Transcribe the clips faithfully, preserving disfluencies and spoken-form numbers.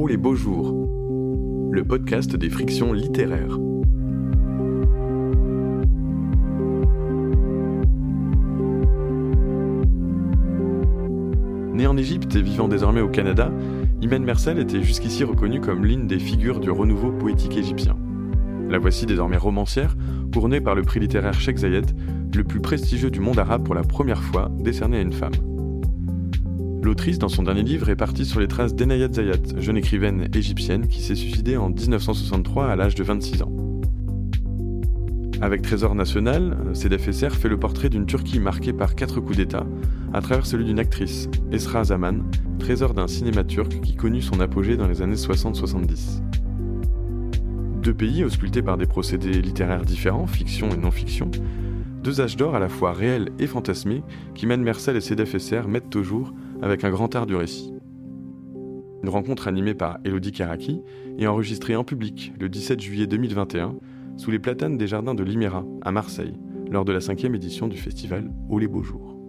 Oh les beaux jours, le podcast des frictions littéraires. Né en Égypte et vivant désormais au Canada, Imane Mersal était jusqu'ici reconnue comme l'une des figures du renouveau poétique égyptien. La voici désormais romancière, couronnée par le prix littéraire Cheikh Zayed, le plus prestigieux du monde arabe pour la première fois décerné à une femme. L'autrice, dans son dernier livre, est partie sur les traces d'Enayat Zayat, jeune écrivaine égyptienne qui s'est suicidée en dix-neuf cent soixante-trois à l'âge de vingt-six ans. Avec Trésor national, Sedef Eser fait le portrait d'une Turquie marquée par quatre coups d'État, à travers celui d'une actrice, Esra Zaman, trésor d'un cinéma turc qui connut son apogée dans les années soixante soixante-dix. Deux pays auscultés par des procédés littéraires différents, fiction et non-fiction, deux âges d'or à la fois réels et fantasmés qu'Imane Mersal et Sedef Eser mettent au jour avec un grand art du récit. Une rencontre animée par Elodie Karaki et enregistrée en public le dix-sept juillet deux mille vingt et un sous les platanes des jardins de l'Himera à Marseille lors de la cinquième édition du festival Oh les beaux jours.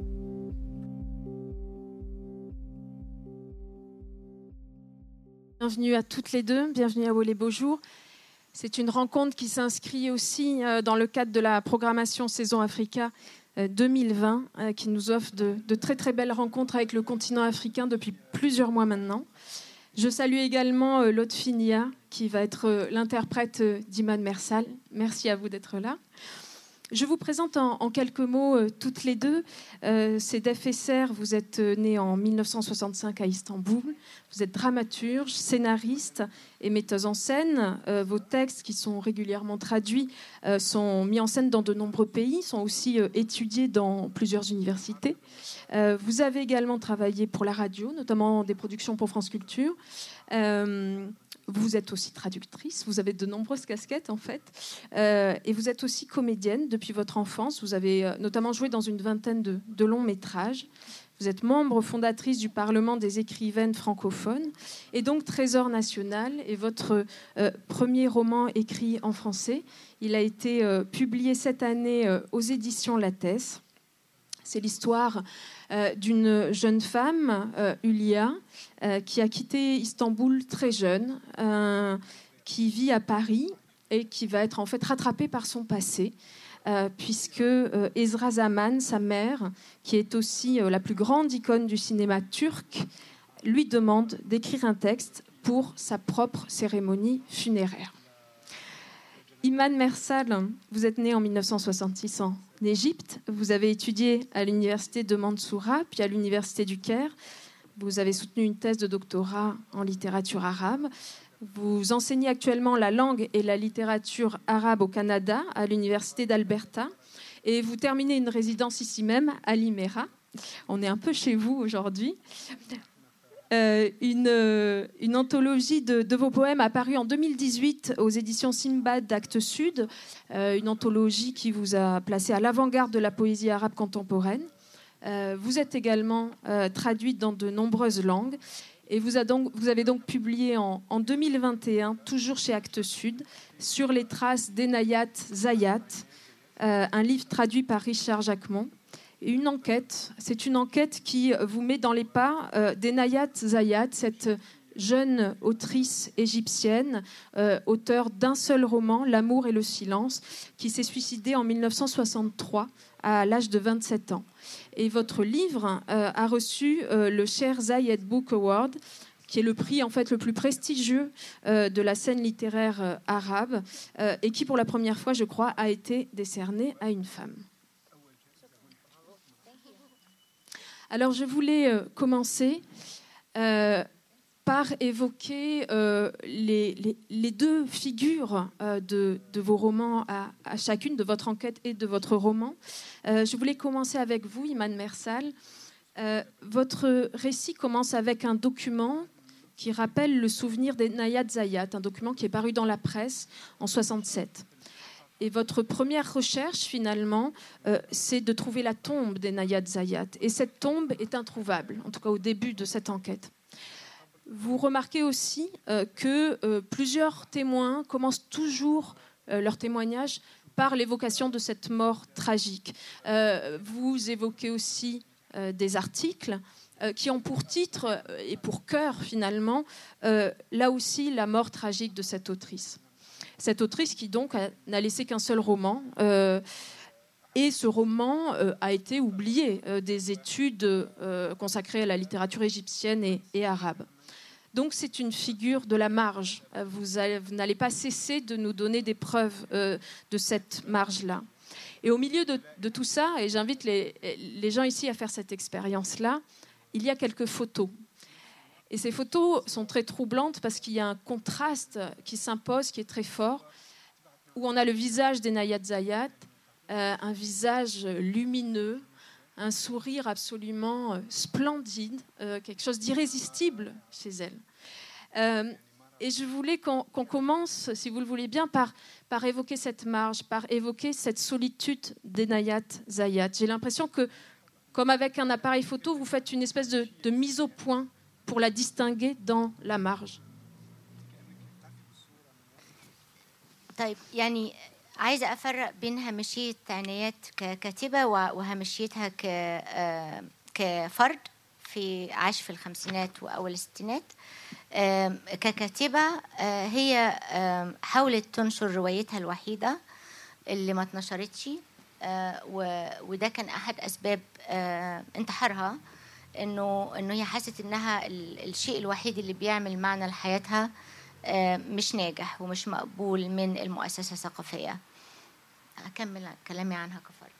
Bienvenue à toutes les deux, bienvenue à Oh les beaux jours. C'est une rencontre qui s'inscrit aussi dans le cadre de la programmation Saison Africa deux mille vingt, qui nous offre de, de très très belles rencontres avec le continent africain depuis plusieurs mois maintenant. Je salue également Lotfi Nia, qui va être l'interprète d'Imane Mersal. Merci à vous d'être là. Je vous présente en, en quelques mots euh, toutes les deux. Euh, Sedef Eser, vous êtes née en dix-neuf cent soixante-cinq à Istanbul. Vous êtes dramaturge, scénariste et metteuse en scène. Euh, vos textes, qui sont régulièrement traduits, euh, sont mis en scène dans de nombreux pays, sont aussi euh, étudiés dans plusieurs universités. Euh, vous avez également travaillé pour la radio, notamment des productions pour France Culture. Euh, Vous êtes aussi traductrice, vous avez de nombreuses casquettes en fait, euh, et vous êtes aussi comédienne depuis votre enfance. Vous avez euh, notamment joué dans une vingtaine de, de longs métrages. Vous êtes membre fondatrice du Parlement des écrivaines francophones, et donc Trésor national est votre euh, premier roman écrit en français. Il a été euh, publié cette année euh, aux éditions Lattès. C'est l'histoire euh, d'une jeune femme, euh, Hülya, euh, qui a quitté Istanbul très jeune, euh, qui vit à Paris et qui va être en fait rattrapée par son passé, euh, puisque euh, Esra Zaman, sa mère, qui est aussi euh, la plus grande icône du cinéma turc, lui demande d'écrire un texte pour sa propre cérémonie funéraire. Imane Mersal, vous êtes née en dix-neuf cent soixante-six en Égypte. Vous avez étudié à l'université de Mansoura, puis à l'université du Caire. Vous avez soutenu une thèse de doctorat en littérature arabe. Vous enseignez actuellement la langue et la littérature arabe au Canada, à l'université d'Alberta. Et vous terminez une résidence ici même, à l'Himera. On est un peu chez vous aujourd'hui. Euh, une, euh, une anthologie de, de vos poèmes apparue en deux mille dix-huit aux éditions Simbad d'Actes Sud, euh, une anthologie qui vous a placé à l'avant-garde de la poésie arabe contemporaine. Euh, vous êtes également euh, traduite dans de nombreuses langues et vous, a donc, vous avez donc publié en, en deux mille vingt et un, toujours chez Actes Sud, Sur les traces d'Enayat Zayat, euh, un livre traduit par Richard Jacquemont. Une enquête, c'est une enquête qui vous met dans les pas euh, d'Enayat Zayat, cette jeune autrice égyptienne, euh, auteure d'un seul roman, L'amour et le silence, qui s'est suicidée en dix-neuf cent soixante-trois à l'âge de vingt-sept ans. Et votre livre euh, a reçu euh, le Cheikh Zayed Book Award, qui est le prix en fait le plus prestigieux euh, de la scène littéraire euh, arabe, euh, et qui pour la première fois, je crois, a été décerné à une femme. Alors, je voulais euh, commencer euh, par évoquer euh, les, les, les deux figures euh, de, de vos romans, à, à chacune de votre enquête et de votre roman. Euh, je voulais commencer avec vous, Imane Mersal. Euh, votre récit commence avec un document qui rappelle le souvenir d'Enayat Zayat, un document qui est paru dans la presse en soixante-sept. Et votre première recherche, finalement, euh, c'est de trouver la tombe d'Enayat Zayat. Et cette tombe est introuvable, en tout cas au début de cette enquête. Vous remarquez aussi euh, que euh, plusieurs témoins commencent toujours euh, leur témoignage par l'évocation de cette mort tragique. Euh, vous évoquez aussi euh, des articles euh, qui ont pour titre euh, et pour cœur finalement, euh, là aussi, la mort tragique de cette autrice. Cette autrice qui donc a, n'a laissé qu'un seul roman, euh, et ce roman euh, a été oublié euh, des études euh, consacrées à la littérature égyptienne et, et arabe. Donc c'est une figure de la marge. Vous, allez, vous n'allez pas cesser de nous donner des preuves euh, de cette marge-là. Et au milieu de, de tout ça, et j'invite les, les gens ici à faire cette expérience-là, il y a quelques photos. Et ces photos sont très troublantes parce qu'il y a un contraste qui s'impose, qui est très fort, où on a le visage d'Enayat Zayat, euh, un visage lumineux, un sourire absolument euh, splendide, euh, quelque chose d'irrésistible chez elle. Euh, et je voulais qu'on, qu'on commence, si vous le voulez bien, par, par évoquer cette marge, par évoquer cette solitude d'Enayat Zayat. J'ai l'impression que, comme avec un appareil photo, vous faites une espèce de, de mise au point pour la distinguer dans la marge. طيب يعني عايزة أفرق بين هامشية عنايات ككاتبة وهامشيتها كفرد في عاش في الخمسينات وأول الستينات. ككاتبة هي حاولت تنشر روايتها الوحيدة اللي ما اتنشرتش، وده كان أحد أسباب انتحارها، إنه إنه هي حست إنها الشيء الوحيد اللي بيعمل معنى لحياتها مش ناجح ومش مقبول من المؤسسة الثقافية. أكمل كلامي عنها كفرد.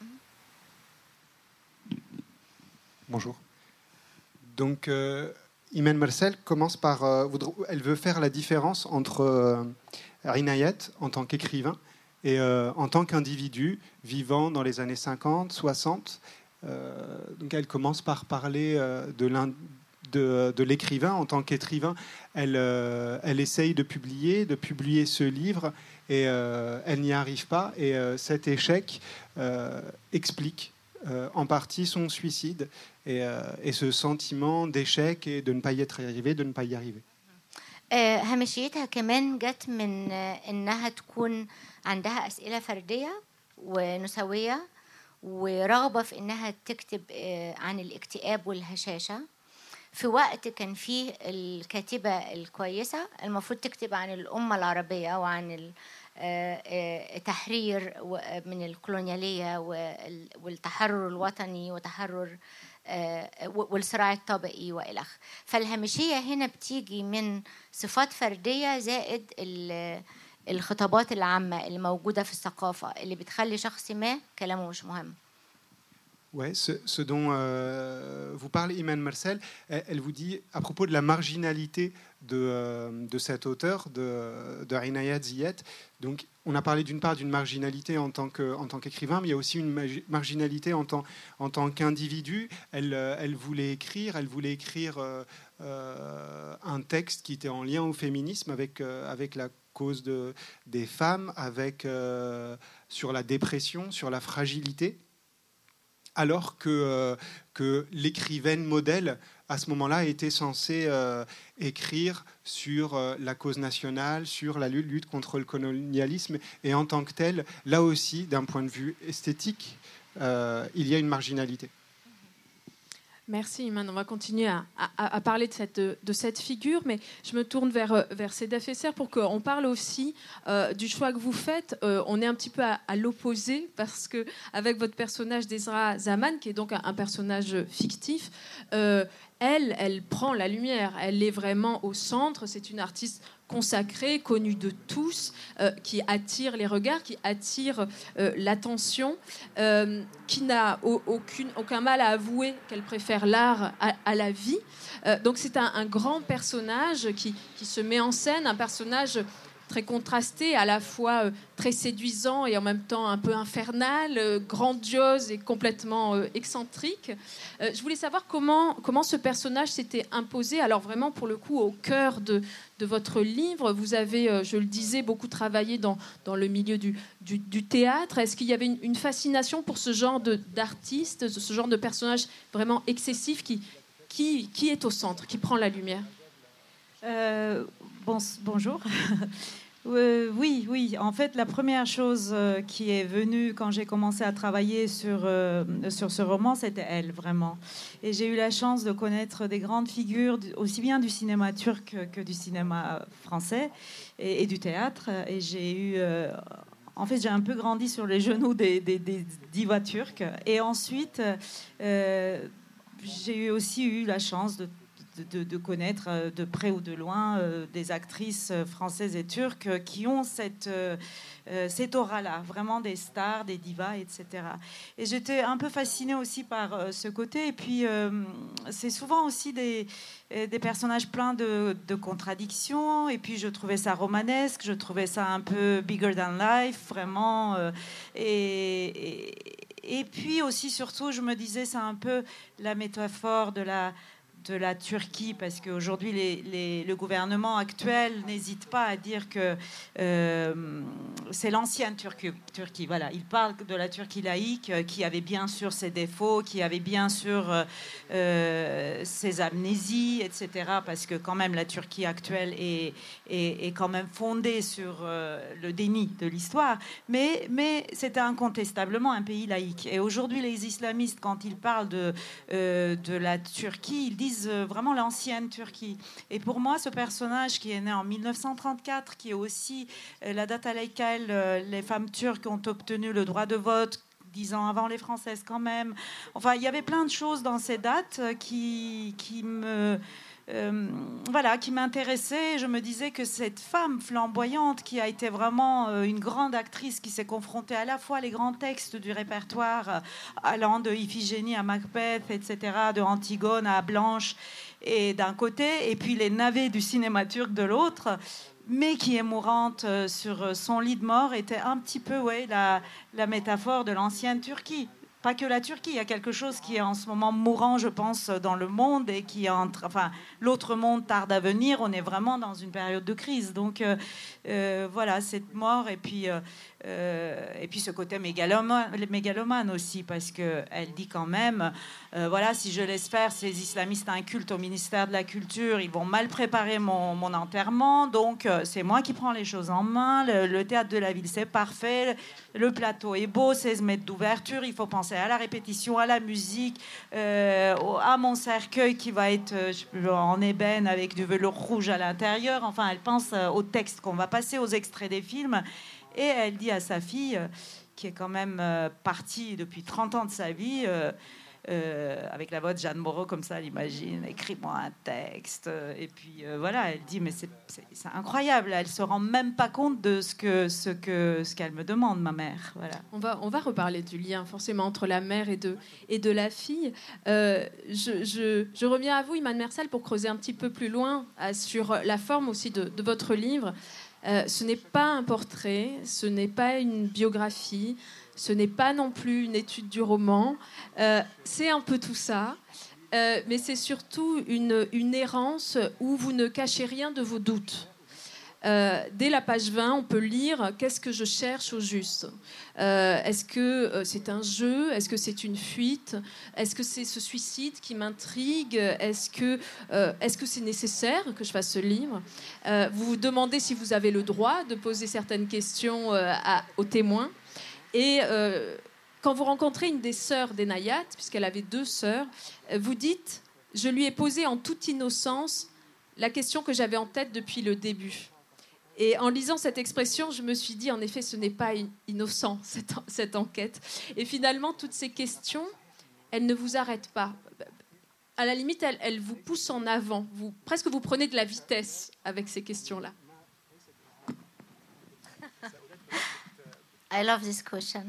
Bonjour. Donc, euh, Imen Mersel commence par... Euh, elle veut faire la différence entre euh, Inayat en tant qu'écrivain et euh, en tant qu'individu vivant dans les années cinquante, soixante. Euh, donc, elle commence par parler euh, de l'un... De, de l'écrivain. En tant qu'écrivain, elle, euh, elle essaye de publier, de publier ce livre, et euh, elle n'y arrive pas. Et euh, cet échec euh, explique euh, en partie son suicide et, euh, et ce sentiment d'échec et de ne pas y être arrivé, de ne pas y arriver. هامشيتها كمان جت من إنها تكون عندها أسئلة فردية ونسوية ورغبة في إنها تكتب عن الاكتئاب والهشاشة في وقت كان فيه الكاتبة الكويسة المفروض تكتب عن الأمة العربية وعن التحرير من الكولونيالية والتحرر الوطني وتحرر والصراع الطبقي وإلخ. فالهامشية هنا بتيجي من صفات فردية زائد الخطابات العامة اللي موجودة في الثقافة اللي بتخلي شخص ما كلامه مش مهم. Ouais, ce, ce dont euh, vous parlez, Imen Mersel, elle, elle vous dit à propos de la marginalité de, euh, de cet auteur, de, de Inayat Zayat. Donc, on a parlé d'une part d'une marginalité en tant, que, en tant qu'écrivain, mais il y a aussi une marginalité en tant, en tant qu'individu. Elle, elle voulait écrire, elle voulait écrire euh, euh, un texte qui était en lien au féminisme avec, euh, avec la cause de, des femmes, avec, euh, sur la dépression, sur la fragilité. Alors que, euh, que l'écrivaine modèle, à ce moment-là, était censée euh, écrire sur euh, la cause nationale, sur la lutte, lutte contre le colonialisme. Et en tant que telle, là aussi, d'un point de vue esthétique, euh, il y a une marginalité. Merci, Iman. On va continuer à, à, à parler de cette, de cette figure, mais je me tourne vers, vers Cédef Esser pour qu'on parle aussi euh, du choix que vous faites. Euh, on est un petit peu à, à l'opposé, parce qu'avec votre personnage d'Ezra Zaman, qui est donc un, un personnage fictif, euh, elle, elle prend la lumière. Elle est vraiment au centre. C'est une artiste consacrée, connue de tous, euh, qui attire les regards, qui attire euh, l'attention, euh, qui n'a au, aucune, aucun mal à avouer qu'elle préfère l'art à, à la vie. Euh, donc c'est un, un grand personnage qui, qui se met en scène, un personnage très contrasté, à la fois euh, très séduisant et en même temps un peu infernal, euh, grandiose et complètement euh, excentrique. Euh, je voulais savoir comment, comment ce personnage s'était imposé, alors vraiment pour le coup au cœur de, de votre livre. Vous avez, euh, je le disais, beaucoup travaillé dans, dans le milieu du, du, du théâtre. Est-ce qu'il y avait une, une fascination pour ce genre de, d'artiste, ce genre de personnage vraiment excessif qui, qui, qui est au centre, qui prend la lumière? euh, bon, Bonjour. Euh, oui, oui. En fait, la première chose euh, qui est venue quand j'ai commencé à travailler sur, euh, sur ce roman, c'était elle, vraiment. Et j'ai eu la chance de connaître des grandes figures, aussi bien du cinéma turc que du cinéma français et, et du théâtre. Et j'ai eu... Euh, en fait, j'ai un peu grandi sur les genoux des, des, des divas turques. Et ensuite, euh, j'ai eu aussi eu la chance de De, de connaître de près ou de loin euh, des actrices françaises et turques qui ont cette, euh, cette aura-là, vraiment des stars, des divas, et cetera. Et j'étais un peu fascinée aussi par euh, ce côté. Et puis, euh, c'est souvent aussi des, des personnages pleins de, de contradictions. Et puis, je trouvais ça romanesque, je trouvais ça un peu bigger than life, vraiment. Euh, et, et, et puis aussi, surtout, je me disais, c'est un peu la métaphore de la... de la Turquie, parce qu'aujourd'hui, les, les, le gouvernement actuel n'hésite pas à dire que euh, c'est l'ancienne Turquie, Turquie. Voilà, il parle de la Turquie laïque, euh, qui avait bien sûr ses défauts, qui avait bien sûr euh, ses amnésies, et cetera. Parce que quand même, la Turquie actuelle est, est, est quand même fondée sur euh, le déni de l'histoire. Mais, mais c'était incontestablement un pays laïque. Et aujourd'hui, les islamistes, quand ils parlent de, euh, de la Turquie, ils disent vraiment l'ancienne Turquie. Et pour moi, ce personnage qui est né en mille neuf cent trente-quatre, qui est aussi la date à laquelle les femmes turques ont obtenu le droit de vote, dix ans avant les Françaises quand même. Enfin, il y avait plein de choses dans ces dates qui, qui me... Euh, voilà, qui m'intéressait. Je me disais que cette femme flamboyante qui a été vraiment euh, une grande actrice, qui s'est confrontée à la fois les grands textes du répertoire, euh, allant de Iphigénie à Macbeth, et cetera, de Antigone à Blanche, et d'un côté, et puis les navets du cinéma turc de l'autre, mais qui est mourante euh, sur son lit de mort, était un petit peu, ouais, la, la métaphore de l'ancienne Turquie. Pas que la Turquie, il y a quelque chose qui est en ce moment mourant, je pense, dans le monde, et qui est entre, enfin, l'autre monde tarde à venir. On est vraiment dans une période de crise. Donc euh, euh, voilà, cette mort, et puis euh, euh, et puis ce côté mégalomane, mégalomane aussi, parce que elle dit quand même, euh, voilà, si je laisse faire ces islamistes incultes au ministère de la Culture, ils vont mal préparer mon, mon enterrement. Donc euh, c'est moi qui prends les choses en main. Le, le théâtre de la ville, c'est parfait. Le plateau est beau, seize mètres d'ouverture. Il faut penser à la répétition, à la musique, euh, à mon cercueil qui va être euh, en ébène avec du velours rouge à l'intérieur. Enfin, elle pense euh, au texte qu'on va passer, aux extraits des films. Et elle dit à sa fille, euh, qui est quand même euh, partie depuis trente ans de sa vie, euh, euh, avec la voix de Jeanne Moreau, comme ça, elle imagine, écris-moi un texte. Et puis euh, voilà, elle dit, mais c'est, c'est, c'est incroyable, elle se rend même pas compte de ce que ce que ce qu'elle me demande, ma mère. Voilà. On va on va reparler du lien forcément entre la mère et de et de la fille. Euh, je, je je reviens à vous, Imane Mersel, pour creuser un petit peu plus loin euh, sur la forme aussi de, de votre livre. Euh, ce n'est pas un portrait, ce n'est pas une biographie, ce n'est pas non plus une étude du roman. Euh, c'est un peu tout ça, euh, mais c'est surtout une, une errance où vous ne cachez rien de vos doutes. Euh, dès la page vingt, on peut lire « Qu'est-ce que je cherche au juste euh, ?» Est-ce que euh, c'est un jeu ? Est-ce que c'est une fuite ? Est-ce que c'est ce suicide qui m'intrigue ? Est-ce que, euh, est-ce que c'est nécessaire que je fasse ce livre ? euh, Vous vous demandez si vous avez le droit de poser certaines questions euh, à, aux témoins. Et euh, quand vous rencontrez une des sœurs d'Enayat, puisqu'elle avait deux sœurs, vous dites « Je lui ai posé en toute innocence la question que j'avais en tête depuis le début ». Et en lisant cette expression, je me suis dit, en effet, ce n'est pas innocent, cette, cette enquête. Et finalement, toutes ces questions, elles ne vous arrêtent pas. À la limite, elles, elles vous poussent en avant. Vous, presque vous prenez de la vitesse avec ces questions-là. I love this question.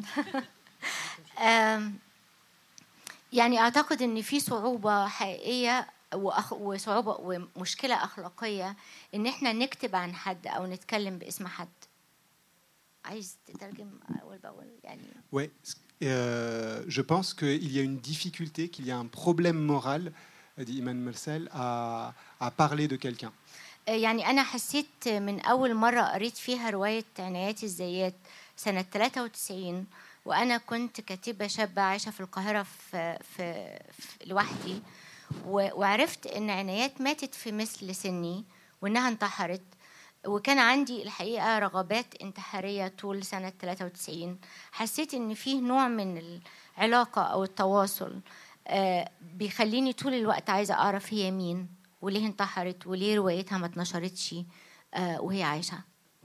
يعني أعتقد إن في صعوبة حقيقية وصعوبة ومشكلة أخلاقية إن إحنا نكتب عن حد أو نتكلم باسم حد. عايز تترجم أول بأول يعني. Ouais, euh, je pense qu'il y a une difficulté, qu'il y a un problème moral, dit Imane Mersel, à, à parler de quelqu'un. يعني أنا حسيت من أول مرة قريت فيها رواية عنايات الزيات سنة ثلاثة وتسعين وأنا كنت كاتبة شابة عايشة في القاهرة في, في, في لوحدي وعرفت إن عنايات ماتت في مثل سني وإنها انتحرت. وكان عندي الحقيقة رغبات انتحارية طول سنة ثلاثة وتسعين. حسيت إن فيه نوع من العلاقة أو التواصل بيخليني طول الوقت عايزة أعرف هي مين وليه انتحرت وليه روايتها ما اتنشرتش وهي عايشة.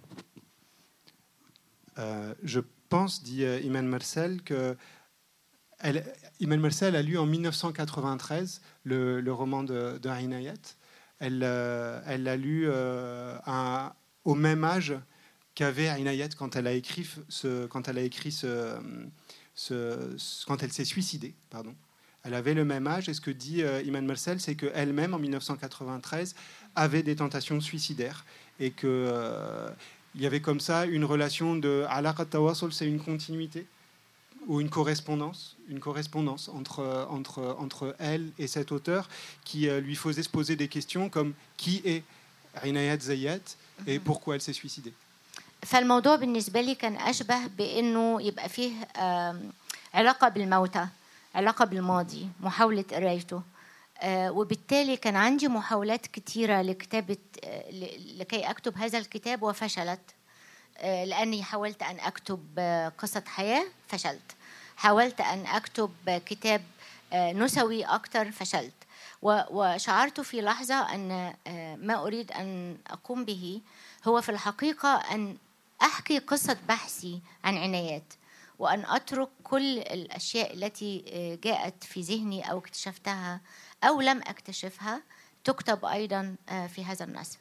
Euh, je pense, dit euh, Iman Marcel, que elle, Iman Marcel a lu en mille neuf cent quatre-vingt-treize le, le roman de, de Inayat. Elle, euh, elle l'a lu euh, à, au même âge qu'avait Inayat quand elle a écrit ce, quand elle a écrit ce, ce, ce quand elle s'est suicidée, pardon. Elle avait le même âge, et ce que dit euh, Iman Marcel, c'est qu'elle-même, en mille neuf cent quatre-vingt-treize, avait des tentations suicidaires, et qu'il euh, y avait comme ça une relation de... Alaqat Tawassul, c'est une continuité, ou une correspondance, une correspondance entre, entre, entre elle et cet auteur, qui euh, lui faisait se poser des questions comme qui est Inayat Zayyat, et pourquoi elle s'est suicidée. فالموضوع بالنسبة لي كان أشبه بأنه يبقى فيه علاقة بالموتى، علاقة بالماضي، محاولة قرايته. آه وبالتالي كان عندي محاولات كتيرة لكتابة آه لكي أكتب هذا الكتاب وفشلت. آه لأني حاولت أن أكتب آه قصة حياة، فشلت. حاولت أن أكتب آه كتاب آه نسوي أكتر، فشلت. وشعرت في لحظة أن آه ما أريد أن أقوم به هو في الحقيقة أن أحكي قصة بحثي عن عنايات، وأن أترك كل الأشياء التي جاءت في ذهني أو اكتشفتها أو لم أكتشفها تكتب أيضا في هذا النص.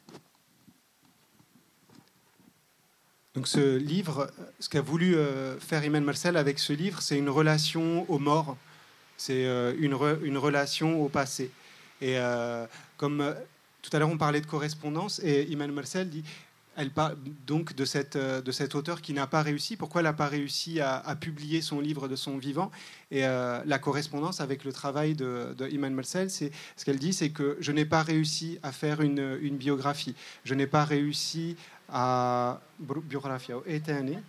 Donc ce livre, ce qu'a voulu faire Iman Marcel avec ce livre, c'est une relation aux morts, c'est une, re, une relation au passé. Et euh, comme tout à l'heure on parlait de correspondance, et Iman Marcel dit... Elle parle donc de, cette, de cet auteur qui n'a pas réussi. Pourquoi elle n'a pas réussi à, à publier son livre de son vivant? Et euh, la correspondance avec le travail de, de Iman Marcel, c'est, ce qu'elle dit, c'est que je n'ai pas réussi à faire une, une biographie. Je n'ai pas réussi à... biographie. Et تاني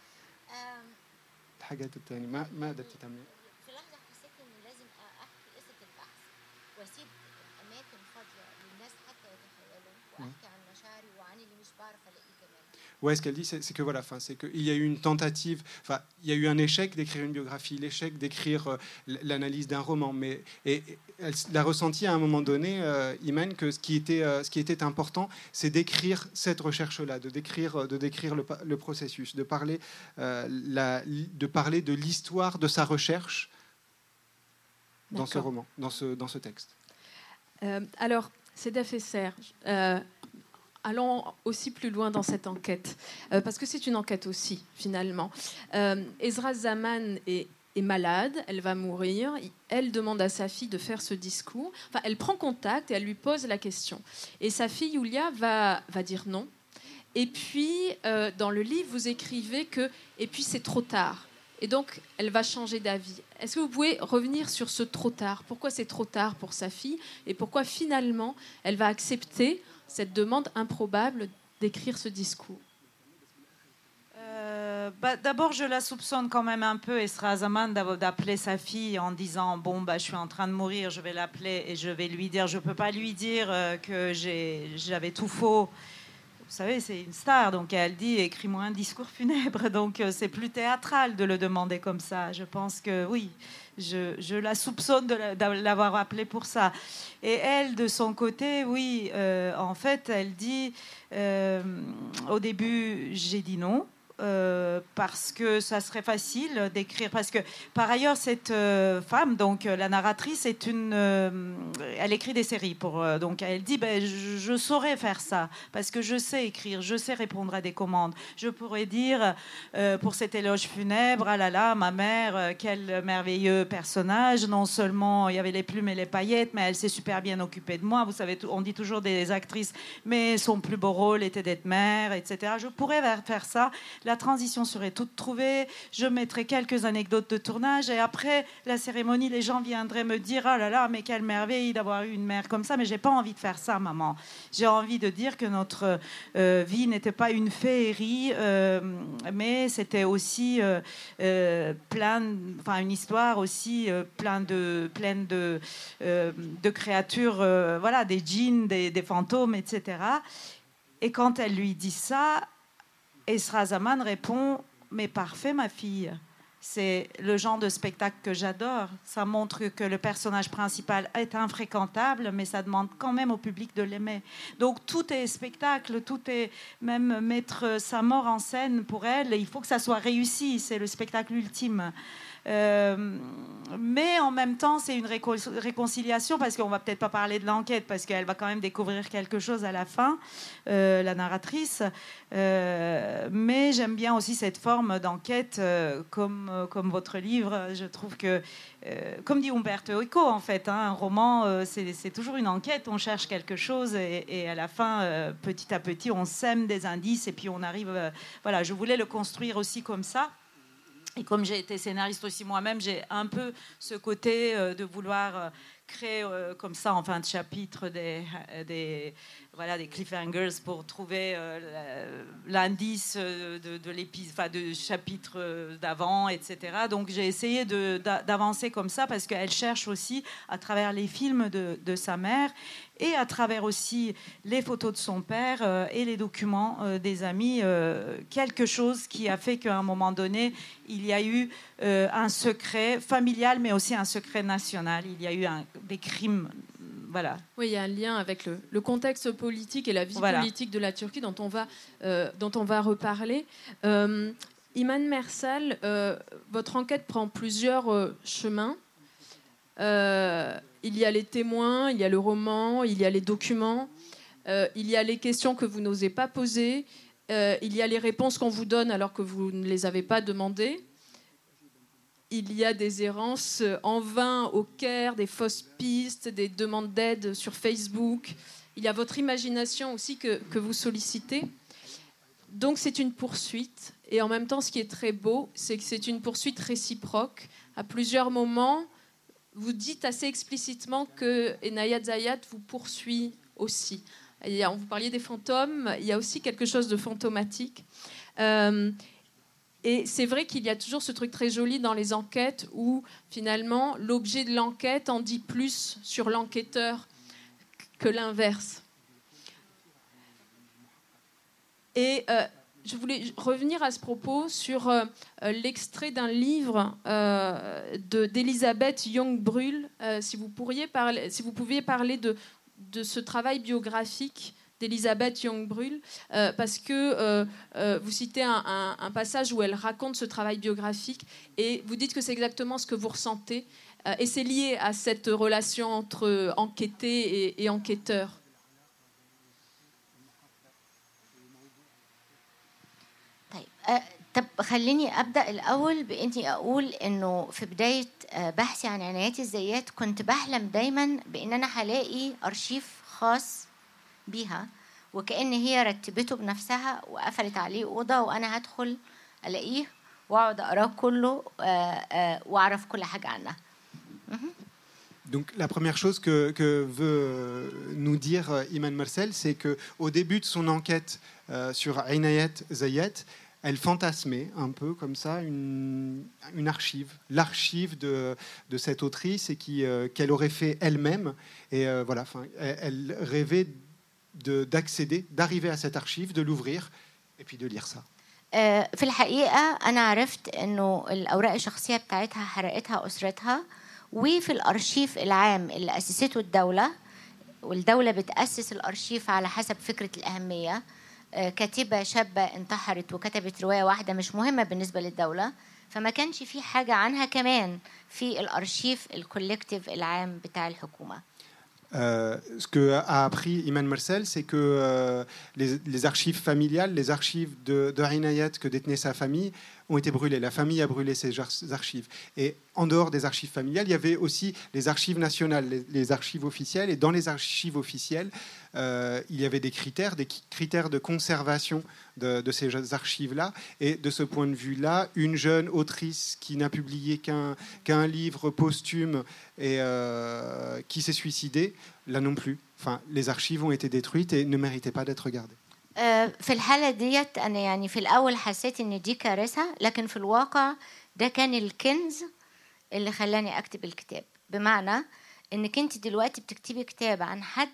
الحاجات التانية ما ما قدرت تعمل. في لحظة حسيت إنه لازم أحكي قصة البحث وأسيب أماكن فاضية للناس حتى يتخيلوا وأحكي عن مشاعري وعن اللي مش بعرف ألاقيه كمان. Ouais, ce qu'elle dit, c'est, c'est que voilà, fin, c'est qu'il y a eu une tentative, enfin, il y a eu un échec d'écrire une biographie, l'échec d'écrire euh, l'analyse d'un roman, mais et, et elle l'a ressenti à un moment donné, euh, Iman, que ce qui était, euh, ce qui était important, c'est d'écrire cette recherche-là, de décrire, de décrire le, le processus, de parler, euh, la, de parler de l'histoire de sa recherche dans D'accord. ce roman, dans ce, dans ce texte. Euh, alors, Cédaf Esser, euh, allons aussi plus loin dans cette enquête, euh, parce que c'est une enquête aussi, finalement. Euh, Ezra Zaman est, est malade, elle va mourir, elle demande à sa fille de faire ce discours, enfin, elle prend contact et elle lui pose la question. Et sa fille, Yulia, va, va dire non. Et puis, euh, dans le livre, vous écrivez que « et puis c'est trop tard ». Et donc, elle va changer d'avis. Est-ce que vous pouvez revenir sur ce trop tard? Pourquoi c'est trop tard pour sa fille? Et pourquoi, finalement, elle va accepter cette demande improbable d'écrire ce discours? euh, bah, D'abord, je la soupçonne quand même un peu, Esra Zaman, d'appeler sa fille en disant « Bon, bah, je suis en train de mourir, je vais l'appeler et je vais lui dire... » Je ne peux pas lui dire euh, que j'ai, j'avais tout faux. Vous savez, c'est une star, donc elle dit « Écris-moi un discours funèbre ». Donc euh, c'est plus théâtral de le demander comme ça. Je pense que oui, je, je la soupçonne de, la, de l'avoir appelée pour ça. Et elle, de son côté, oui, euh, en fait, elle dit euh, « Au début, j'ai dit non ». Euh, parce que ça serait facile d'écrire, parce que par ailleurs cette euh, femme, donc euh, la narratrice est une euh, elle écrit des séries pour euh, donc elle dit ben, je, je saurais faire ça parce que je sais écrire, je sais répondre à des commandes, je pourrais dire euh, pour cet éloge funèbre, ah là là ma mère, euh, quel merveilleux personnage, non seulement il y avait les plumes et les paillettes, mais elle s'est super bien occupée de moi, vous savez, on dit toujours des actrices, mais son plus beau rôle était d'être mère, etc. Je pourrais faire ça. La transition serait toute trouvée, je mettrais quelques anecdotes de tournage et après la cérémonie, les gens viendraient me dire « Ah là là, mais quelle merveille d'avoir eu une mère comme ça, mais j'ai pas envie de faire ça, maman. J'ai envie de dire que notre euh, vie n'était pas une féerie, euh, mais c'était aussi euh, euh, plein, enfin une histoire aussi euh, plein de, pleine de, euh, de créatures, euh, voilà, des djinns, des, des fantômes, et cetera » Et quand elle lui dit ça, Esra Zaman répond « Mais parfait, ma fille ». C'est le genre de spectacle que j'adore. Ça montre que le personnage principal est infréquentable, mais ça demande quand même au public de l'aimer. Donc tout est spectacle, tout est même mettre sa mort en scène pour elle. Il faut que ça soit réussi, c'est le spectacle ultime. Euh, mais en même temps, c'est une réco- réconciliation parce qu'on va peut-être pas parler de l'enquête parce qu'elle va quand même découvrir quelque chose à la fin, euh, la narratrice. Euh, mais j'aime bien aussi cette forme d'enquête, euh, comme euh, comme votre livre. Je trouve que, euh, comme dit Umberto Eco, en fait, hein, un roman, euh, c'est, c'est toujours une enquête. On cherche quelque chose et, et à la fin, euh, petit à petit, on sème des indices et puis on arrive. Euh, voilà, je voulais le construire aussi comme ça. Et comme j'ai été scénariste aussi moi-même, j'ai un peu ce côté euh, de vouloir euh, créer euh, comme ça en fin de chapitre des, des, voilà, des cliffhangers pour trouver euh, l'indice de, de l'épisode, enfin, de chapitre d'avant, et cetera. Donc j'ai essayé de, d'avancer comme ça parce qu'elle cherche aussi à travers les films de, de sa mère et à travers aussi les photos de son père euh, et les documents euh, des amis, euh, quelque chose qui a fait qu'à un moment donné, il y a eu euh, un secret familial, mais aussi un secret national. Il y a eu un, des crimes, voilà. Oui, il y a un lien avec le, le contexte politique et la vie voilà. politique de la Turquie dont on va, euh, dont on va reparler. Euh, Iman Mersel, euh, votre enquête prend plusieurs euh, chemins. Euh, il y a les témoins, il y a le roman, il y a les documents, euh, il y a les questions que vous n'osez pas poser, euh, il y a les réponses qu'on vous donne alors que vous ne les avez pas demandées. Il y a des errances en vain au Caire, des fausses pistes, des demandes d'aide sur Facebook. Il y a votre imagination aussi que, que vous sollicitez. Donc c'est une poursuite. Et en même temps, ce qui est très beau, c'est que c'est une poursuite réciproque. À plusieurs moments, vous dites assez explicitement que Inayat Zayat vous poursuit aussi. Il y a, vous parliez des fantômes, il y a aussi quelque chose de fantomatique. Euh, et c'est vrai qu'il y a toujours ce truc très joli dans les enquêtes où, finalement, l'objet de l'enquête en dit plus sur l'enquêteur que l'inverse. Et euh, je voulais revenir à ce propos sur euh, l'extrait d'un livre euh, de, d'Elisabeth Young-Brühl. Euh, si vous pourriez parler, si vous pouviez parler de, de ce travail biographique d'Elisabeth Young-Brühl, euh, parce que euh, euh, vous citez un, un, un passage où elle raconte ce travail biographique et vous dites que c'est exactement ce que vous ressentez. Euh, et c'est lié à cette relation entre enquêté et, et enquêteur. طب خليني أبدأ الأول بإني أقول إنه في بداية بحثي عن عنايات الزيات كنت بحلم دايما بإن أنا هلاقي أرشيف خاص بيها وكأن هي رتبته بنفسها وقفلت عليه أوضة وأنا هدخل ألاقيه وأقعد أقراه كله وأعرف كل حاجة عنها. Donc la première chose que, que veut nous dire Iman Mersel, c'est qu'au début de son enquête euh, sur Inayat Zayat, elle fantasmait un peu comme ça une, une archive, l'archive de, de cette autrice et qui, euh, qu'elle aurait fait elle-même. Et euh, voilà, elle, elle rêvait de, d'accéder, d'arriver à cette archive, de l'ouvrir et puis de lire ça. في الحقيقة أنا عرفت إنه الأوراق الشخصية بتاعتها حرقتها أسرتها وفي الأرشيف العام اللي أسسته الدولة والدولة بتأسس الأرشيف على حسب فكرة الأهمية. كاتبة شابة انتحرت وكتبت رواية واحدة مش مهمة بالنسبة للدولة فما كانش في حاجة عنها كمان في الأرشيف الكولكتيف العام بتاع الحكومة. Euh, ce qu'a appris Iman Mersel, c'est que euh, les, les archives familiales, les archives de, de Inayat que détenait sa famille, ont été brûlées. La famille a brûlé ces archives. Et en dehors des archives familiales, il y avait aussi les archives nationales, les, les archives officielles. Et dans les archives officielles, euh, il y avait des critères, des critères de conservation de, de ces archives-là. Et de ce point de vue-là, une jeune autrice qui n'a publié qu'un, qu'un livre posthume et euh, qui s'est suicidée, là non plus. Enfin, les archives ont été détruites et ne méritaient pas d'être gardées. في الحالة ديت أنا يعني في الأول حسيت إن دي كارثة لكن في الواقع ده كان الكنز اللي خلاني أكتب الكتاب بمعنى إنك أنت دلوقتي بتكتبي كتاب عن حد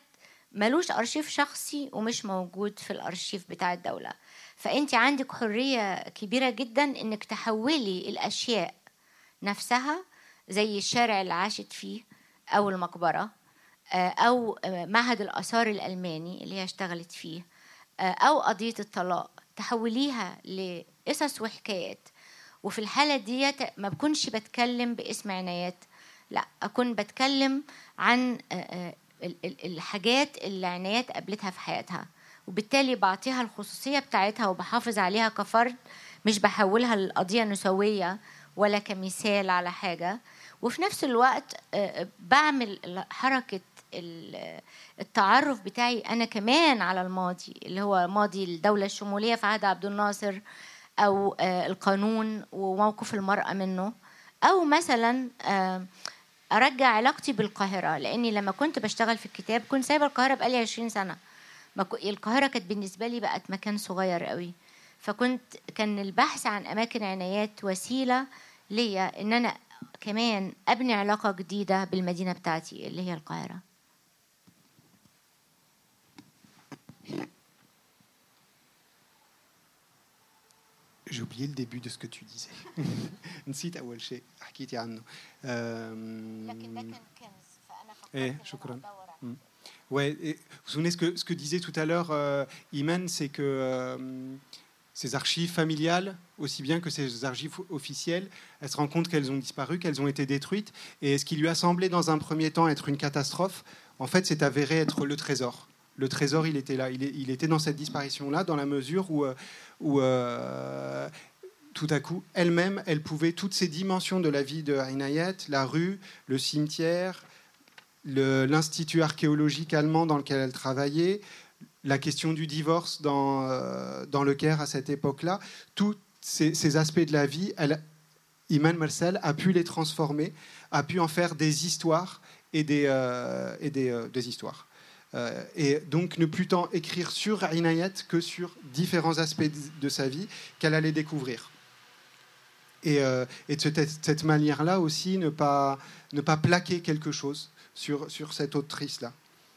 ملوش أرشيف شخصي ومش موجود في الأرشيف بتاع الدولة. فأنت عندك حرية كبيرة جدا إنك تحولي الأشياء نفسها زي الشارع اللي عاشت فيه أو المقبرة أو معهد الآثار الألماني اللي هي اشتغلت فيه أو قضية الطلاق، تحوليها لقصص وحكايات. وفي الحالة دي ما بكونش بتكلم باسم عنايات، لا، أكون بتكلم عن الحاجات اللي عنايات قابلتها في حياتها، وبالتالي بعطيها الخصوصية بتاعتها وبحافظ عليها كفرد، مش بحولها لقضية نسوية ولا كمثال على حاجة. وفي نفس الوقت بعمل حركة التعرف بتاعي أنا كمان على الماضي اللي هو ماضي الدولة الشمولية في عهد عبد الناصر، أو القانون وموقف المرأة منه، أو مثلا أرجع علاقتي بالقاهرة، لأني لما كنت بشتغل في الكتاب كنت سايبة القاهرة بقالي عشرين سنة. القاهرة كانت بالنسبة لي بقت مكان صغير قوي، فكنت كان البحث عن أماكن عنايات وسيلة ليا إن أنا كمان أبني علاقة جديدة بالمدينة بتاعتي اللي هي القاهرة. J'ai oublié le début de ce que tu disais. نسيت أول شيء حكيتي عنه. لكن ده كان كنز فأنا فكرت إيه شكرا. Ouais, et vous vous souvenez ce que ce que disait tout à l'heure euh, Iman, c'est que euh, ces archives familiales, aussi bien que ces archives officielles, elle se rend compte qu'elles ont disparu, qu'elles ont été détruites, et ce qui lui a semblé dans un premier temps être une catastrophe, en fait, s'est avéré être le trésor. Le trésor, il était là, il, est, il était dans cette disparition-là, dans la mesure où, où euh, tout à coup, elle-même, elle pouvait toutes ces dimensions de la vie de Inayat, la rue, le cimetière, le, l'institut archéologique allemand dans lequel elle travaillait, la question du divorce dans, euh, dans le Caire à cette époque-là, tous ces, ces aspects de la vie, elle, Iman Mersel a pu les transformer, a pu en faire des histoires et des, euh, et des, euh, des histoires. Euh, et donc ne plus tant écrire sur Inayat que sur différents aspects de, de sa vie qu'elle allait découvrir. Et, euh, et de cette, cette manière-là aussi, ne pas, ne pas plaquer quelque chose sur, sur cette autrice-là.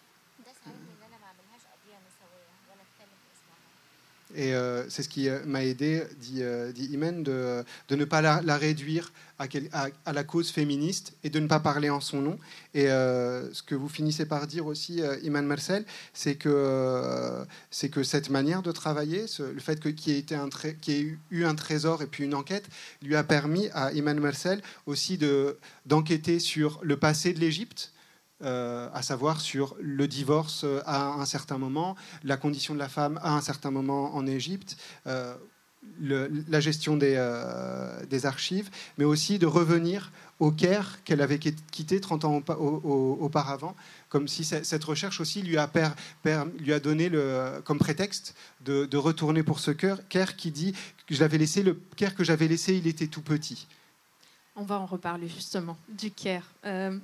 Et euh, c'est ce qui m'a aidé, dit, euh, dit Iman, de, de ne pas la, la réduire à, quel, à, à la cause féministe et de ne pas parler en son nom. Et euh, ce que vous finissez par dire aussi, euh, Iman Mersel, c'est que, euh, c'est que cette manière de travailler, ce, le fait que, qu'il y ait été un tré, qu'il y ait eu, eu un trésor et puis une enquête, lui a permis à Iman Mersel aussi de, d'enquêter sur le passé de l'Égypte, Euh, à savoir sur le divorce à un certain moment, la condition de la femme à un certain moment en Égypte, euh, le, la gestion des, euh, des archives, mais aussi de revenir au Caire qu'elle avait quitté trente ans auparavant, comme si cette recherche aussi lui a, per, per, lui a donné le, comme prétexte de, de retourner pour ce Caire qui dit que je l'avais laissé, le Caire que j'avais laissé, il était tout petit. On va en reparler justement du Caire. Euh,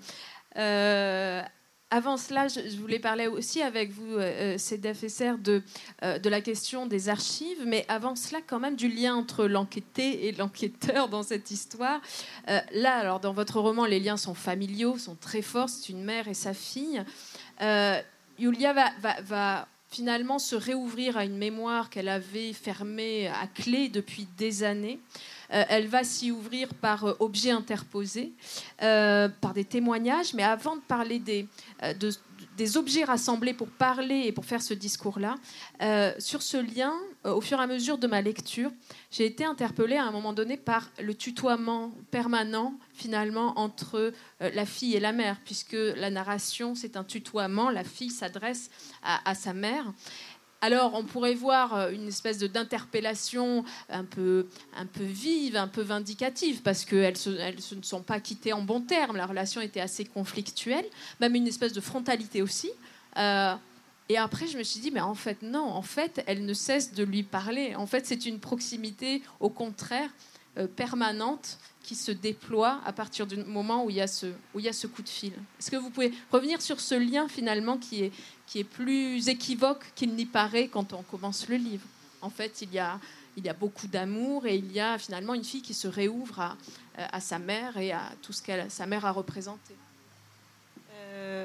Euh, avant cela, je, je voulais parler aussi avec vous, euh, Sedef Esser, de, euh, de la question des archives, mais avant cela, quand même, du lien entre l'enquêté et l'enquêteur dans cette histoire. Euh, là, alors, dans votre roman, les liens sont familiaux, sont très forts. C'est une mère et sa fille. Euh, Yulia va, va, va finalement se réouvrir à une mémoire qu'elle avait fermée à clé depuis des années. Euh, elle va s'y ouvrir par euh, objets interposés, euh, par des témoignages. Mais avant de parler des, euh, de, des objets rassemblés pour parler et pour faire ce discours-là, euh, sur ce lien, euh, au fur et à mesure de ma lecture, j'ai été interpellée à un moment donné par le tutoiement permanent, finalement, entre euh, la fille et la mère, puisque la narration, c'est un tutoiement. La fille s'adresse à, à sa mère. Alors, on pourrait voir une espèce de, d'interpellation un peu, un peu vive, un peu vindicative, parce qu'elles se, elles se ne sont pas quittées en bons termes. La relation était assez conflictuelle, même une espèce de frontalité aussi. Euh, et après, je me suis dit, mais en fait, non, en fait, elle ne cesse de lui parler. En fait, c'est une proximité, au contraire, euh, permanente, qui se déploie à partir du moment où il y a ce, où il y a ce coup de fil. Est-ce que vous pouvez revenir sur ce lien, finalement, qui est, qui est plus équivoque qu'il n'y paraît quand on commence le livre? En fait, il y a, il y a beaucoup d'amour et il y a finalement une fille qui se réouvre à, à sa mère et à tout ce que sa mère a représenté. Euh,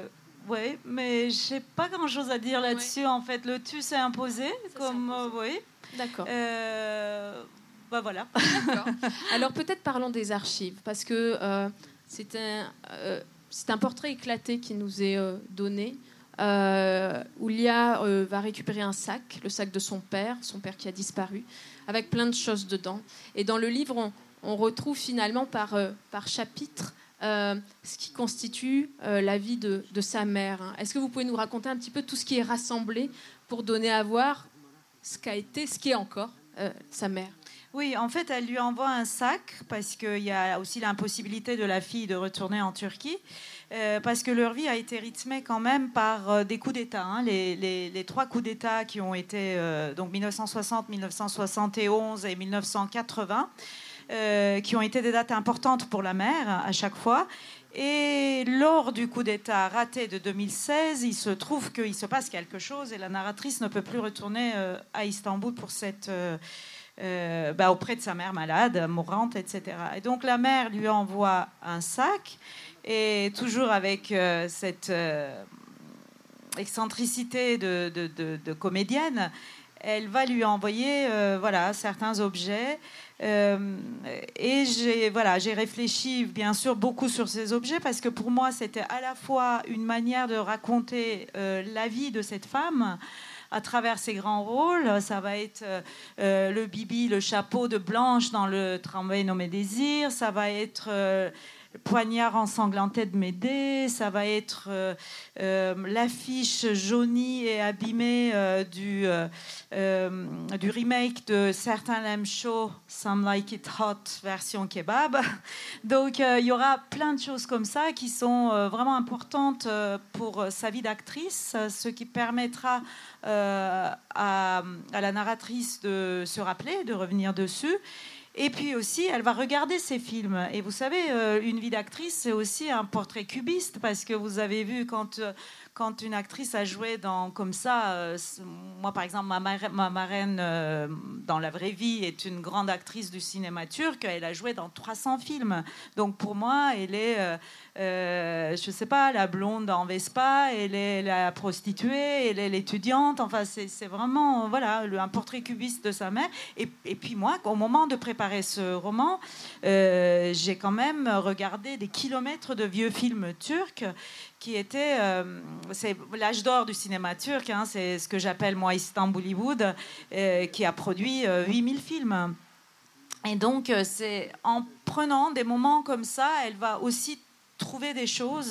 oui, mais je n'ai pas grand-chose à dire là-dessus. Ouais. En fait, le tu s'est imposé. Ça comme, euh, oui. D'accord. Euh, bah voilà. D'accord. Alors peut-être parlons des archives, parce que euh, c'est, un, euh, c'est un portrait éclaté qui nous est euh, donné. Euh, Oulia euh, va récupérer un sac, le sac de son père, son père qui a disparu, avec plein de choses dedans. Et dans le livre, on, on retrouve finalement par, euh, par chapitre euh, ce qui constitue euh, la vie de, de sa mère. Est-ce que vous pouvez nous raconter un petit peu tout ce qui est rassemblé pour donner à voir ce qu'a été, ce qui est encore euh, sa mère? Oui, en fait, elle lui envoie un sac parce qu'il y a aussi l'impossibilité de la fille de retourner en Turquie. Euh, parce que leur vie a été rythmée quand même par euh, des coups d'État. Hein. Les, les, les trois coups d'État qui ont été euh, donc dix-neuf cent soixante, dix-neuf cent soixante et onze et dix-neuf cent quatre-vingts, euh, qui ont été des dates importantes pour la mère à chaque fois. Et lors du coup d'État raté de deux mille seize, il se trouve qu'il se passe quelque chose et la narratrice ne peut plus retourner euh, à Istanbul pour cette... Euh, Euh, bah, auprès de sa mère malade, mourante, et cetera. Et donc la mère lui envoie un sac, et toujours avec euh, cette euh, excentricité de, de, de, de comédienne, elle va lui envoyer euh, voilà, certains objets. Euh, et j'ai, voilà, j'ai réfléchi bien sûr beaucoup sur ces objets, parce que pour moi c'était à la fois une manière de raconter euh, la vie de cette femme à travers ses grands rôles. Ça va être euh, le bibi, le chapeau de Blanche dans le Tramway nommé Désir. Ça va être euh, le poignard ensanglanté de Médée. Ça va être euh, euh, l'affiche jaunie et abîmée euh, du, euh, euh, du remake de Certains l'aiment chaud, Some Like It Hot, version kebab. Donc euh, il y aura plein de choses comme ça qui sont euh, vraiment importantes euh, pour sa vie d'actrice, ce qui permettra Euh, à, à la narratrice de se rappeler, de revenir dessus. Et puis aussi, elle va regarder ces films. Et vous savez, euh, une vie d'actrice, c'est aussi un portrait cubiste, parce que vous avez vu quand, quand une actrice a joué dans, comme ça, euh, moi par exemple, ma, mar- ma marraine euh, dans la vraie vie est une grande actrice du cinéma turc, elle a joué dans trois cents films. Donc pour moi, elle est... Euh, Euh, je sais pas, la blonde en Vespa, elle est la prostituée, elle est l'étudiante. Enfin, c'est, c'est vraiment voilà, un portrait cubiste de sa mère. Et, et puis moi, au moment de préparer ce roman, euh, j'ai quand même regardé des kilomètres de vieux films turcs qui étaient... Euh, c'est l'âge d'or du cinéma turc, hein, c'est ce que j'appelle, moi, Istanbul-Hollywood, euh, qui a produit euh, huit mille films. Et donc, euh, c'est en prenant des moments comme ça, elle va aussi trouver des choses.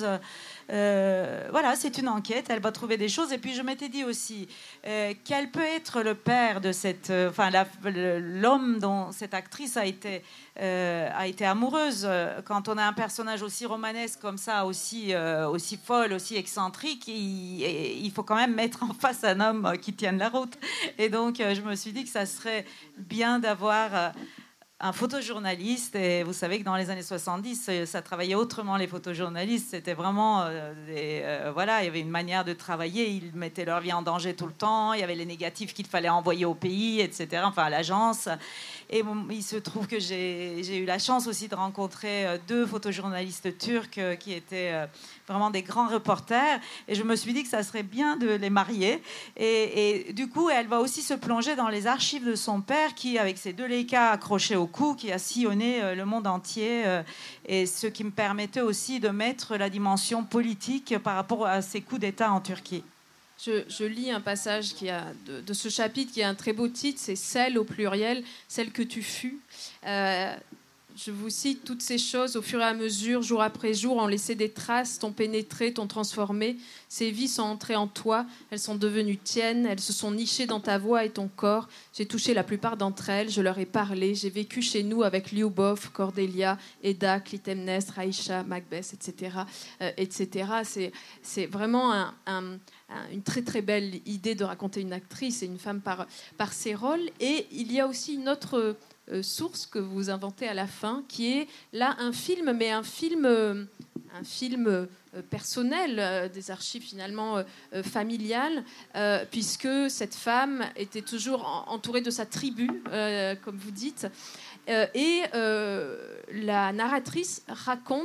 Euh, voilà, c'est une enquête, elle va trouver des choses. Et puis je m'étais dit aussi, euh, quel peut être le père de cette... Euh, enfin, la, l'homme dont cette actrice a été, euh, a été amoureuse. Quand on a un personnage aussi romanesque comme ça, aussi, euh, aussi folle, aussi excentrique, il, il faut quand même mettre en face un homme qui tienne la route. Et donc, euh, je me suis dit que ça serait bien d'avoir... Euh, un photojournaliste, et vous savez que dans les années soixante-dix, ça travaillait autrement, les photojournalistes. C'était vraiment euh, des, euh, voilà, il y avait une manière de travailler. Ils mettaient leur vie en danger tout le temps. Il y avait les négatifs qu'il fallait envoyer au pays, et cetera. Enfin, à l'agence. Et bon, il se trouve que j'ai, j'ai eu la chance aussi de rencontrer euh, deux photojournalistes turcs euh, qui étaient euh, vraiment des grands reporters. Et je me suis dit que ça serait bien de les marier. Et, et du coup, elle va aussi se plonger dans les archives de son père, qui, avec ses deux Leica accrochés au cou, qui a sillonné euh, le monde entier, euh, et ce qui me permettait aussi de mettre la dimension politique par rapport à ces coups d'État en Turquie. Je, je lis un passage qui a de, de ce chapitre qui a un très beau titre, c'est « Celle » au pluriel, « Celle que tu fus euh, ». Je vous cite: toutes ces choses, au fur et à mesure, jour après jour, ont laissé des traces, t'ont pénétré, t'ont transformé. Ces vies sont entrées en toi, elles sont devenues tiennes, elles se sont nichées dans ta voix et ton corps. J'ai touché la plupart d'entre elles, je leur ai parlé. J'ai vécu chez nous avec Lyubov, Cordelia, Eda, Clytemnestre, Aïcha, Macbeth, et cetera, euh, et cetera. C'est, c'est vraiment un, un, un, une très très belle idée de raconter une actrice et une femme par, par ses rôles. Et il y a aussi une autre Euh, source que vous inventez à la fin, qui est là un film, mais un film, euh, un film euh, personnel, euh, des archives finalement euh, familiales, euh, puisque cette femme était toujours en, entourée de sa tribu, euh, comme vous dites, euh, et euh, la narratrice raconte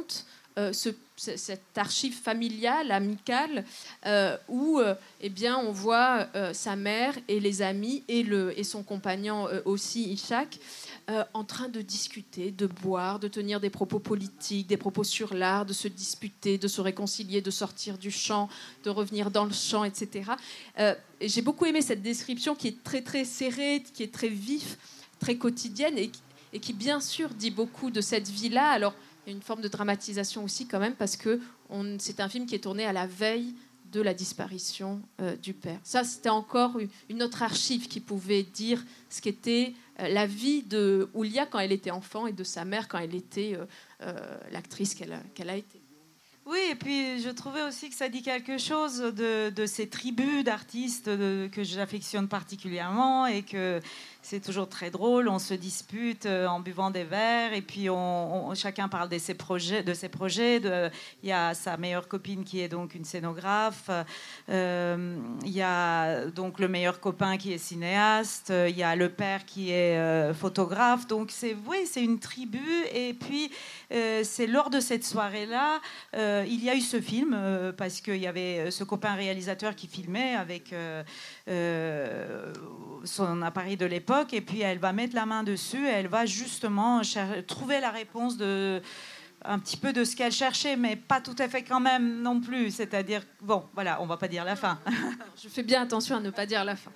euh, ce, cette archive familiale, amicale, euh, où euh, eh bien, on voit euh, sa mère et les amis et, le, et son compagnon euh, aussi, Ishak, euh, en train de discuter, de boire, de tenir des propos politiques, des propos sur l'art, de se disputer, de se réconcilier, de sortir du champ, de revenir dans le champ, et cetera. Euh, et j'ai beaucoup aimé cette description qui est très, très serrée, qui est très vif, très quotidienne et qui, et qui, bien sûr, dit beaucoup de cette vie-là. Alors, il y a une forme de dramatisation aussi quand même parce que on, c'est un film qui est tourné à la veille de la disparition euh, du père. Ça, c'était encore une autre archive qui pouvait dire ce qu'était euh, la vie de Oulia quand elle était enfant et de sa mère quand elle était euh, euh, l'actrice qu'elle a, qu'elle a été. Oui, et puis je trouvais aussi que ça dit quelque chose de, de ces tribus d'artistes de, que j'affectionne particulièrement et que c'est toujours très drôle. On se dispute en buvant des verres et puis on, on, chacun parle de ses projets. De ses projets. De, il y a sa meilleure copine qui est donc une scénographe. Euh, il y a donc le meilleur copain qui est cinéaste. Il y a le père qui est euh, photographe. Donc c'est, oui, c'est une tribu. Et puis euh, c'est lors de cette soirée-là, euh, il y a eu ce film euh, parce qu'il y avait ce copain réalisateur qui filmait avec euh, euh, son appareil de l'époque. Et puis elle va mettre la main dessus et elle va justement cher- trouver la réponse de un petit peu de ce qu'elle cherchait, mais pas tout à fait quand même non plus. C'est-à-dire, bon, voilà, on va pas dire la fin. Je fais bien attention à ne pas dire la fin.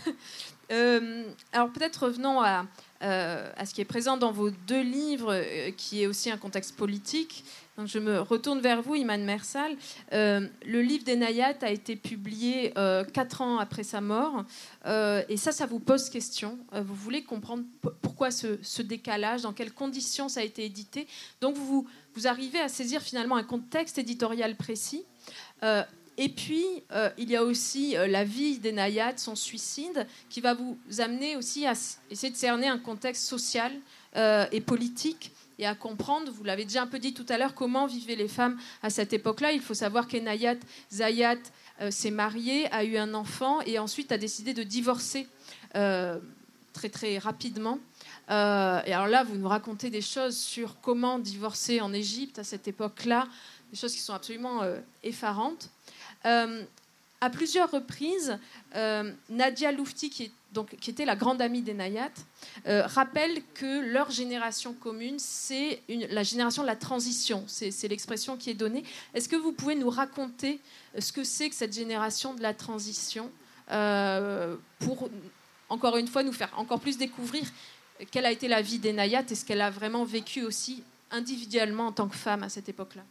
euh, alors peut-être revenons à, euh, à ce qui est présent dans vos deux livres, euh, qui est aussi un contexte politique. Donc je me retourne vers vous, Iman Mersal. Euh, le livre d'Enayat a été publié euh, quatre ans après sa mort. Euh, et ça, ça vous pose question. Euh, vous voulez comprendre p- pourquoi ce, ce décalage, dans quelles conditions ça a été édité. Donc vous, vous arrivez à saisir finalement un contexte éditorial précis. Euh, et puis, euh, il y a aussi euh, la vie d'Enayat, son suicide, qui va vous amener aussi à s- essayer de cerner un contexte social euh, et politique et à comprendre, vous l'avez déjà un peu dit tout à l'heure, comment vivaient les femmes à cette époque-là. Il faut savoir qu'Enayat Zayat euh, s'est mariée, a eu un enfant et ensuite a décidé de divorcer euh, très très rapidement. Euh, et alors là, vous nous racontez des choses sur comment divorcer en Égypte à cette époque-là, des choses qui sont absolument euh, effarantes. Euh, à plusieurs reprises, euh, Nadia Loufti, qui, est, donc, qui était la grande amie d'Enayat, euh, rappelle que leur génération commune, c'est une, la génération de la transition. C'est, c'est l'expression qui est donnée. Est-ce que vous pouvez nous raconter ce que c'est que cette génération de la transition euh, pour, encore une fois, nous faire encore plus découvrir quelle a été la vie d'Enayat et ce qu'elle a vraiment vécu aussi individuellement en tant que femme à cette époque-là?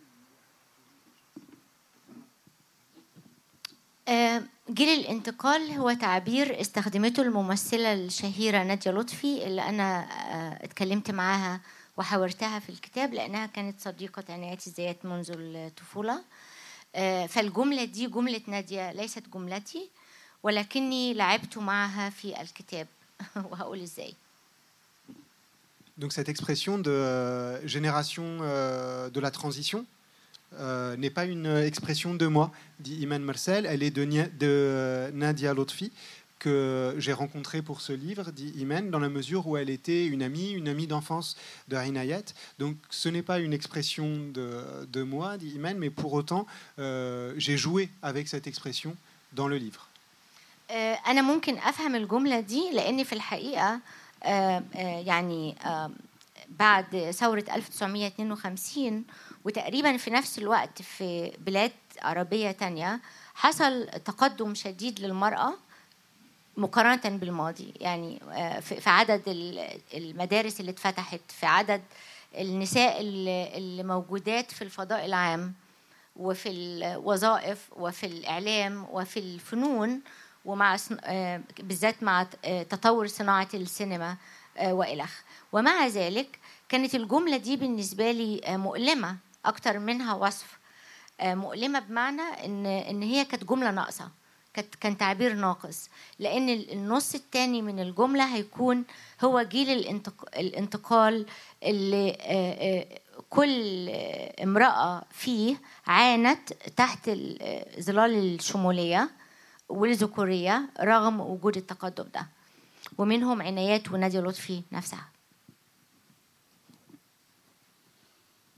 جيل الانتقال هو تعبير استخدمته الممثلة الشهيرة نادية لطفي اللي أنا اتكلمت معاها وحاورتها في الكتاب لأنها كانت صديقة عنايات الزيات منذ الطفولة. فالجملة دي جملة نادية ليست جملتي ولكني لعبت معها في الكتاب وهقول إزاي. Donc cette expression de euh, génération euh, de la transition Euh, n'est pas une expression de moi, dit Iman Mersal. Elle est de, Nia, de Nadia Lotfi, que j'ai rencontrée pour ce livre, dit Iman, dans la mesure où elle était une amie, une amie d'enfance de Inayat. Donc ce n'est pas une expression de, de moi, dit Iman, mais pour autant, euh, j'ai joué avec cette expression dans le livre. أنا ممكن أفهم الجملة دي لأن في الحقيقة يعني بعد ثورة ألف وتسعمائة واثنين وخمسين وتقريبا في نفس الوقت في بلاد عربية تانية حصل تقدم شديد للمرأة مقارنة بالماضي. يعني في عدد المدارس اللي اتفتحت، في عدد النساء اللي موجودات في الفضاء العام وفي الوظائف وفي الإعلام وفي الفنون، ومع بالذات مع تطور صناعة السينما وإلخ. ومع ذلك كانت الجملة دي بالنسبة لي مؤلمة أكتر منها وصف. مؤلمة بمعنى إن إن هي كانت جملة ناقصة، كانت كان تعبير ناقص، لأن النص الثاني من الجملة هيكون هو جيل الانتقال اللي كل امرأة فيه عانت تحت ظلال الشمولية والذكورية رغم وجود التقدم ده، ومنهم عنايات ونادية لطفي نفسها.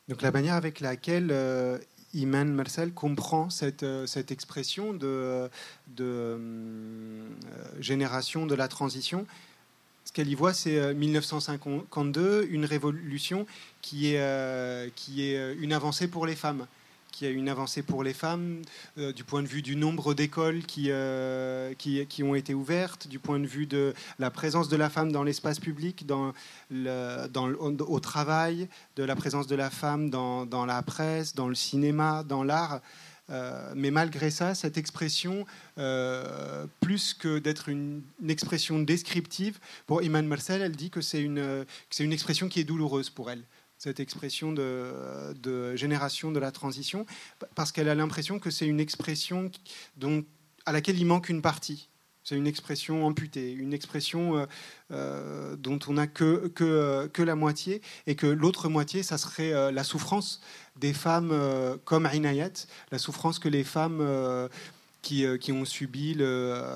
Donc la manière avec laquelle euh, Iman Marcel comprend cette, euh, cette expression de, de euh, génération de la transition, ce qu'elle y voit, c'est euh, mille neuf cent cinquante-deux, une révolution qui est, euh, qui est une avancée pour les femmes. Qui a une avancée pour les femmes euh, du point de vue du nombre d'écoles qui, euh, qui, qui ont été ouvertes, du point de vue de la présence de la femme dans l'espace public, dans le, dans le, au travail, de la présence de la femme dans, dans la presse, dans le cinéma, dans l'art. Euh, mais malgré ça, cette expression, euh, plus que d'être une, une expression descriptive, pour Iman Marcel, elle dit que c'est une, que c'est une expression qui est douloureuse pour elle. Cette expression de, de génération de la transition, parce qu'elle a l'impression que c'est une expression dont, à laquelle il manque une partie. C'est une expression amputée, une expression euh, dont on n'a que, que, que la moitié, et que l'autre moitié, ça serait euh, la souffrance des femmes euh, comme Inayat, la souffrance que les femmes... Euh, Qui, euh, qui ont subi le,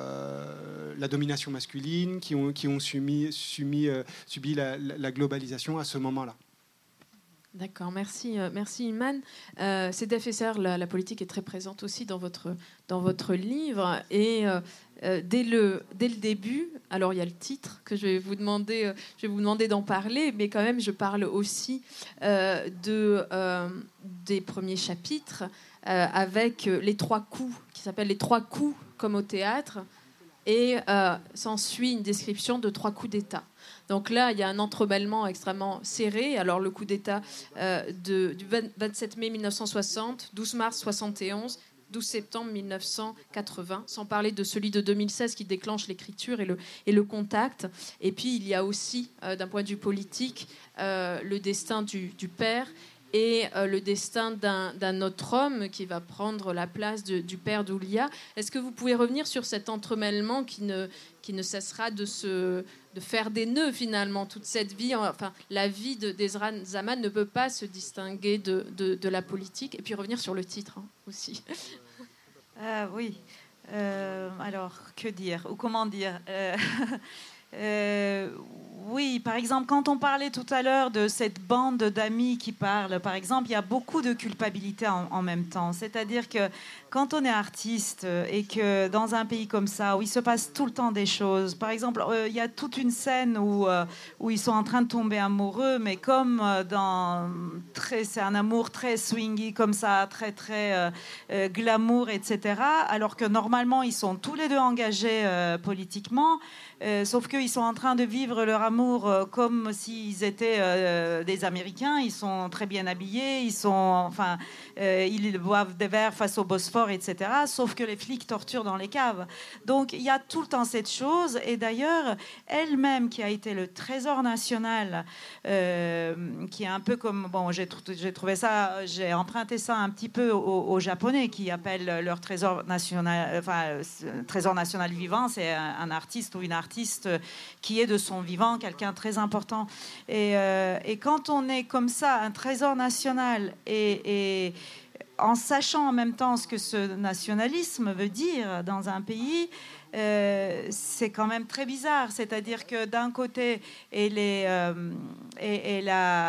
euh, la domination masculine, qui ont, qui ont subi, subi, euh, subi la, la globalisation à ce moment-là. D'accord, merci, euh, merci Iman. Euh, C D F S R, la, la politique est très présente aussi dans votre, dans votre livre. Et euh, euh, dès, le, dès le début, alors il y a le titre que je vais vous demander, euh, je vais vous demander d'en parler, mais quand même je parle aussi euh, de, euh, des premiers chapitres euh, avec les trois coups, qui s'appellent les trois coups comme au théâtre. Et euh, s'ensuit une description de trois coups d'État. Donc là, il y a un entremêlement extrêmement serré. Alors le coup d'État euh, de, du vingt-sept mai mille neuf cent soixante, douze mars soixante et onze, douze septembre mille neuf cent quatre-vingts, sans parler de celui de deux mille seize qui déclenche l'écriture et le, et le contact. Et puis il y a aussi, euh, d'un point de vue politique, euh, le destin du, du père et euh, le destin d'un, d'un autre homme qui va prendre la place de, du père d'Oulia. Est-ce que vous pouvez revenir sur cet entremêlement qui ne, qui ne cessera de, se, de faire des nœuds, finalement, toute cette vie? Enfin, la vie de, d'Ezra Zaman ne peut pas se distinguer de, de, de la politique. Et puis revenir sur le titre, hein, aussi. Euh, oui. Euh, alors, que dire? Ou comment dire euh, euh, Oui, par exemple, quand on parlait tout à l'heure de cette bande d'amis qui parlent, par exemple, il y a beaucoup de culpabilité en, en même temps. C'est-à-dire que quand on est artiste et que dans un pays comme ça, où il se passe tout le temps des choses, par exemple, euh, il y a toute une scène où, euh, où ils sont en train de tomber amoureux, mais comme dans... Très, c'est un amour très swingy, comme ça, très, très euh, euh, glamour, et cetera. Alors que normalement, ils sont tous les deux engagés euh, politiquement, euh, sauf qu'ils sont en train de vivre leur amour euh, comme s'ils étaient euh, des Américains. Ils sont très bien habillés, ils sont, enfin, euh, ils boivent des verres face au Bosphore, et cetera. Sauf que les flics torturent dans les caves. Donc il y a tout le temps cette chose. Et d'ailleurs, elle-même qui a été le trésor national, euh, qui est un peu comme, bon, j'ai, j'ai trouvé ça, j'ai emprunté ça un petit peu aux, aux Japonais qui appellent leur trésor national, enfin, trésor national vivant. C'est un, un artiste ou une artiste qui est de son vivant quelqu'un de très important. Et, euh, et quand on est comme ça, un trésor national, et, et en sachant en même temps ce que ce nationalisme veut dire dans un pays, euh, c'est quand même très bizarre. C'est-à-dire que d'un côté, elle, est, euh, elle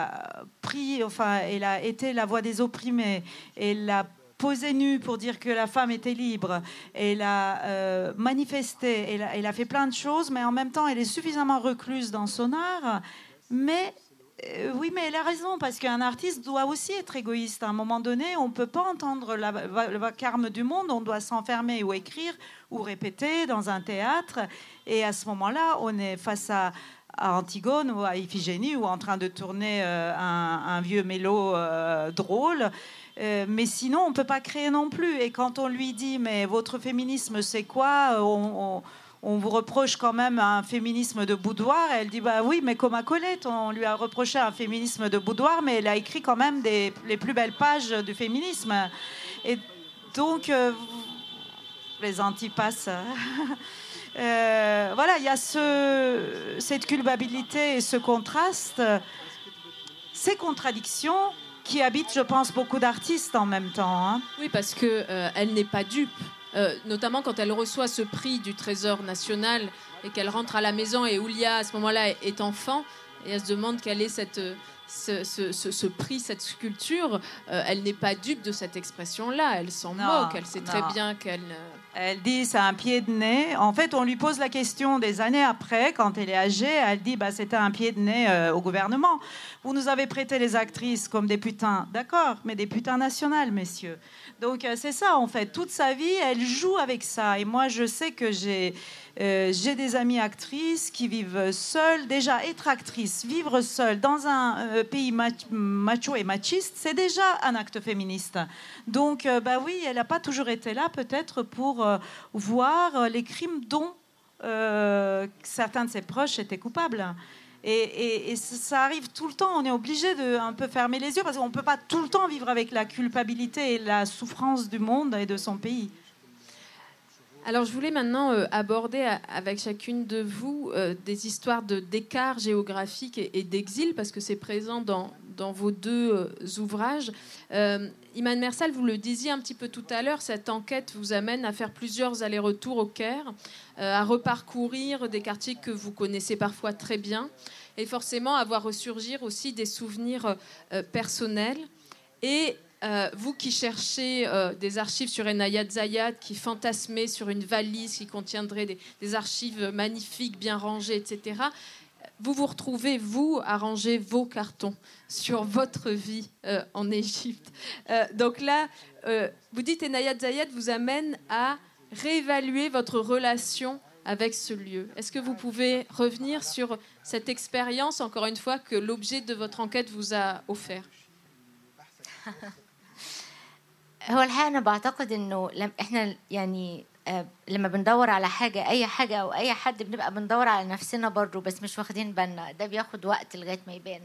a pris, enfin, elle a été la voix des opprimés, elle a posé nue pour dire que la femme était libre, elle a euh, manifesté, elle a, elle a fait plein de choses, mais en même temps, elle est suffisamment recluse dans son art. Mais euh, oui, mais elle a raison, parce qu'un artiste doit aussi être égoïste. À un moment donné, on ne peut pas entendre la, le vacarme du monde, on doit s'enfermer ou écrire ou répéter dans un théâtre. Et à ce moment-là, on est face à à Antigone ou à Iphigénie, ou en train de tourner euh, un, un vieux mélo euh, drôle. Euh, mais sinon, on ne peut pas créer non plus. Et quand on lui dit « mais votre féminisme, c'est quoi ?» on, on, on vous reproche quand même un féminisme de boudoir. Et elle dit « bah oui, mais comme à Colette, on lui a reproché un féminisme de boudoir, mais elle a écrit quand même des, les plus belles pages du féminisme. » Et donc, euh, les antipasses... Euh, voilà, il y a ce, cette culpabilité et ce contraste, ces contradictions qui habitent, je pense, beaucoup d'artistes en même temps. Hein. Oui, parce qu'elle euh, n'est pas dupe, euh, notamment quand elle reçoit ce prix du Trésor national et qu'elle rentre à la maison et Oulia, à ce moment-là, est enfant, et elle se demande quelle est cette, ce, ce, ce, ce prix, cette sculpture, euh, elle n'est pas dupe de cette expression-là. Elle s'en Non, moque. Elle sait non. très bien qu'elle... ne- Elle dit c'est un pied de nez. En fait, on lui pose la question des années après, quand elle est âgée. Elle dit bah, c'était un pied de nez euh, au gouvernement. Vous nous avez prêté les actrices comme des putains. D'accord, mais des putains nationales, messieurs. Donc euh, c'est ça, en fait. Toute sa vie, elle joue avec ça. Et moi, je sais que j'ai, euh, j'ai des amies actrices qui vivent seules. Déjà, être actrice, vivre seule dans un euh, pays mach- macho et machiste, c'est déjà un acte féministe. Donc, euh, bah oui, elle n'a pas toujours été là, peut-être, pour euh, voir euh, les crimes dont euh, certains de ses proches étaient coupables. Et, et, et ça arrive tout le temps. On est obligé de un peu fermer les yeux parce qu'on ne peut pas tout le temps vivre avec la culpabilité et la souffrance du monde et de son pays. Alors, je voulais maintenant euh, aborder a- avec chacune de vous euh, des histoires de, d'écart géographique et, et d'exil, parce que c'est présent dans, dans vos deux euh, ouvrages. Euh, Iman Mersal, vous le disiez un petit peu tout à l'heure, cette enquête vous amène à faire plusieurs allers-retours au Caire, euh, à reparcourir des quartiers que vous connaissez parfois très bien, et forcément à voir ressurgir aussi des souvenirs euh, personnels. Et Euh, vous qui cherchez euh, des archives sur Enayat Zayat, qui fantasmez sur une valise qui contiendrait des, des archives magnifiques, bien rangées, et cetera, vous vous retrouvez, vous, à ranger vos cartons sur votre vie euh, en Égypte. Euh, donc là, euh, vous dites Enayat Zayat vous amène à réévaluer votre relation avec ce lieu. Est-ce que vous pouvez revenir sur cette expérience, encore une fois, que l'objet de votre enquête vous a offert? هو الحقيقة أنا بعتقد إنه لم إحنا يعني آه، لما بندور على حاجة أي حاجة أو أي حد بنبقى بندور على نفسنا برضو بس مش واخدين بالنا ده بياخد وقت لغاية ما يبان.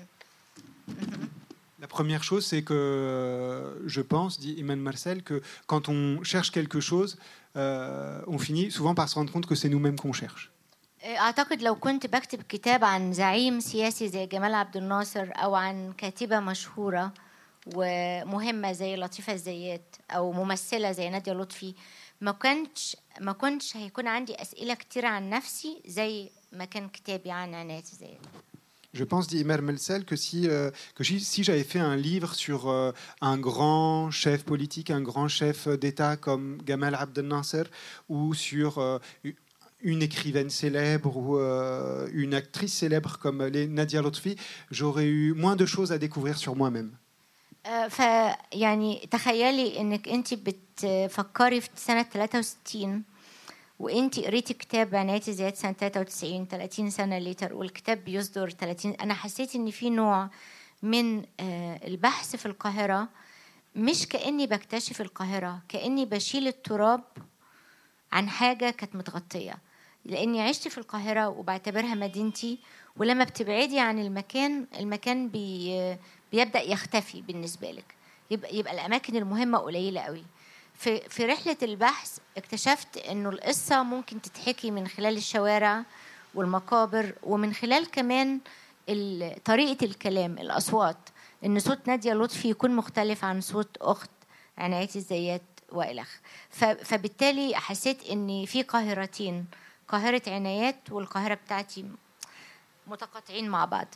La première chose, c'est que je pense, dit Iman Mersal, que quand on cherche quelque chose, euh, on finit souvent par se rendre compte que c'est nous-mêmes qu'on cherche. أعتقد لو كنت بكتب كتاب عن زعيم سياسي زي جمال عبد الناصر أو عن كاتبة مشهورة ومهمة زي لطيفة الزيات أو ممثلة زي نادية لطفي ما كنتش ما كنتش هيكون عندي أسئلة كتير عن نفسي زي ما كان كتابي عن عناية الزيات. Je pense, dit Iman Mersal, que si, euh, que si, si j'avais fait un livre sur euh, un grand chef politique, un grand chef d'État comme Gamal Abdel Nasser, ou sur euh, une écrivaine célèbre ou euh, une actrice célèbre comme les Nadia Lotfi, j'aurais eu moins de choses à découvrir sur moi-même. فيعني تخيلي انك انت بتفكري في سنه ثلاثة وستين وانت قريتي كتاب عناية الزيات سنه ثلاثة وتسعين ثلاثين سنه ليتر والكتاب بيصدر ثلاثين. انا حسيت ان في نوع من البحث في القاهره مش كاني بكتشف القاهره كاني بشيل التراب عن حاجه كانت متغطيه لاني عشت في القاهره وبعتبرها مدينتي ولما بتبعدي عن المكان المكان بي بيبدأ يختفي بالنسبة لك يبقى, يبقى الأماكن المهمة قليلة قوي. في, في رحلة البحث اكتشفت أنه القصة ممكن تتحكي من خلال الشوارع والمقابر ومن خلال كمان طريقة الكلام الأصوات أن صوت نادية لطفي يكون مختلف عن صوت أخت عناية الزيات وإلخ. فبالتالي حسيت أن في قاهرتين قاهرة عنايات والقاهرة بتاعتي متقاطعين مع بعض.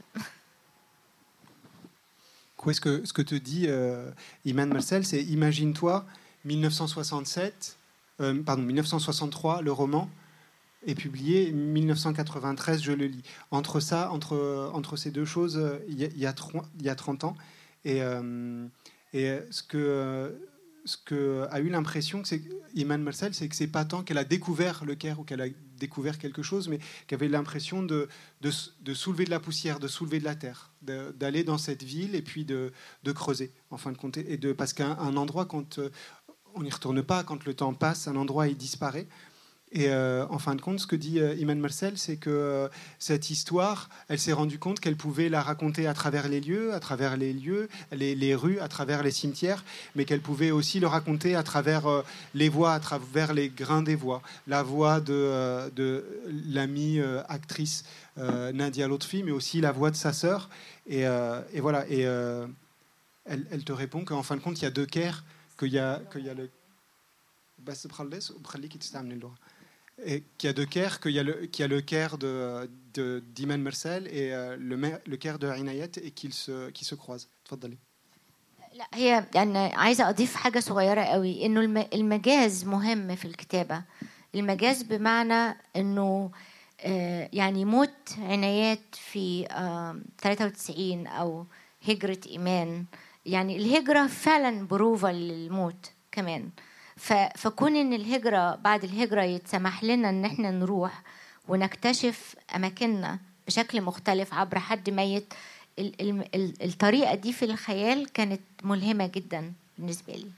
Ce que, ce que te dit euh, Iman Mersal, c'est imagine-toi dix-neuf cent soixante-sept, euh, pardon, dix-neuf cent soixante-trois, le roman est publié, dix-neuf cent quatre-vingt-treize, je le lis. Entre ça, entre, entre ces deux choses, il y a, il y a, il y a trente ans. Et, euh, et ce que, euh, ce que a eu l'impression, c'est Iman Mersal, c'est que c'est pas tant qu'elle a découvert le Caire ou qu'elle a découvert quelque chose, mais qu'elle avait l'impression de, de, de soulever de la poussière, de soulever de la terre, de, d'aller dans cette ville et puis de, de creuser, en fin de compte. Et de, parce qu'un un endroit, quand euh, on n'y retourne pas, quand le temps passe, un endroit, il disparaît. Et euh, en fin de compte, ce que dit euh, Iman Mersal, c'est que euh, cette histoire, elle s'est rendue compte qu'elle pouvait la raconter à travers les lieux, à travers les lieux, les, les rues, à travers les cimetières, mais qu'elle pouvait aussi le raconter à travers euh, les voix, à travers les grains des voix. La voix de, euh, de l'amie euh, actrice euh, Nadia Lotfi, mais aussi la voix de sa sœur. Et, euh, et voilà. Et euh, elle, elle te répond qu'en fin de compte, il y a deux Caires, qu'il y a, qu'il y a le... et qu'il y a deux Caire, qu'il y a le, qu'il y a le Caire de, de, d'Iman Mersel et euh, le, le Caire de Inayat et qu'ils se, qu'ils se croisent. تفضلي. لا هي يعني عايزة أضيف حاجة صغيرة قوي إنه المجاز مهم في الكتابة. المجاز بمعنى إنه يعني موت عنايات في ثلاثة وتسعين أو هجرة إيمان، يعني الهجرة فعلا بروفة للموت كمان. فكون إن الهجرة بعد الهجرة يتسمح لنا إن إحنا نروح ونكتشف أماكننا بشكل مختلف عبر حد ميت، الطريقة دي في الخيال كانت ملهمة جدا بالنسبة لي.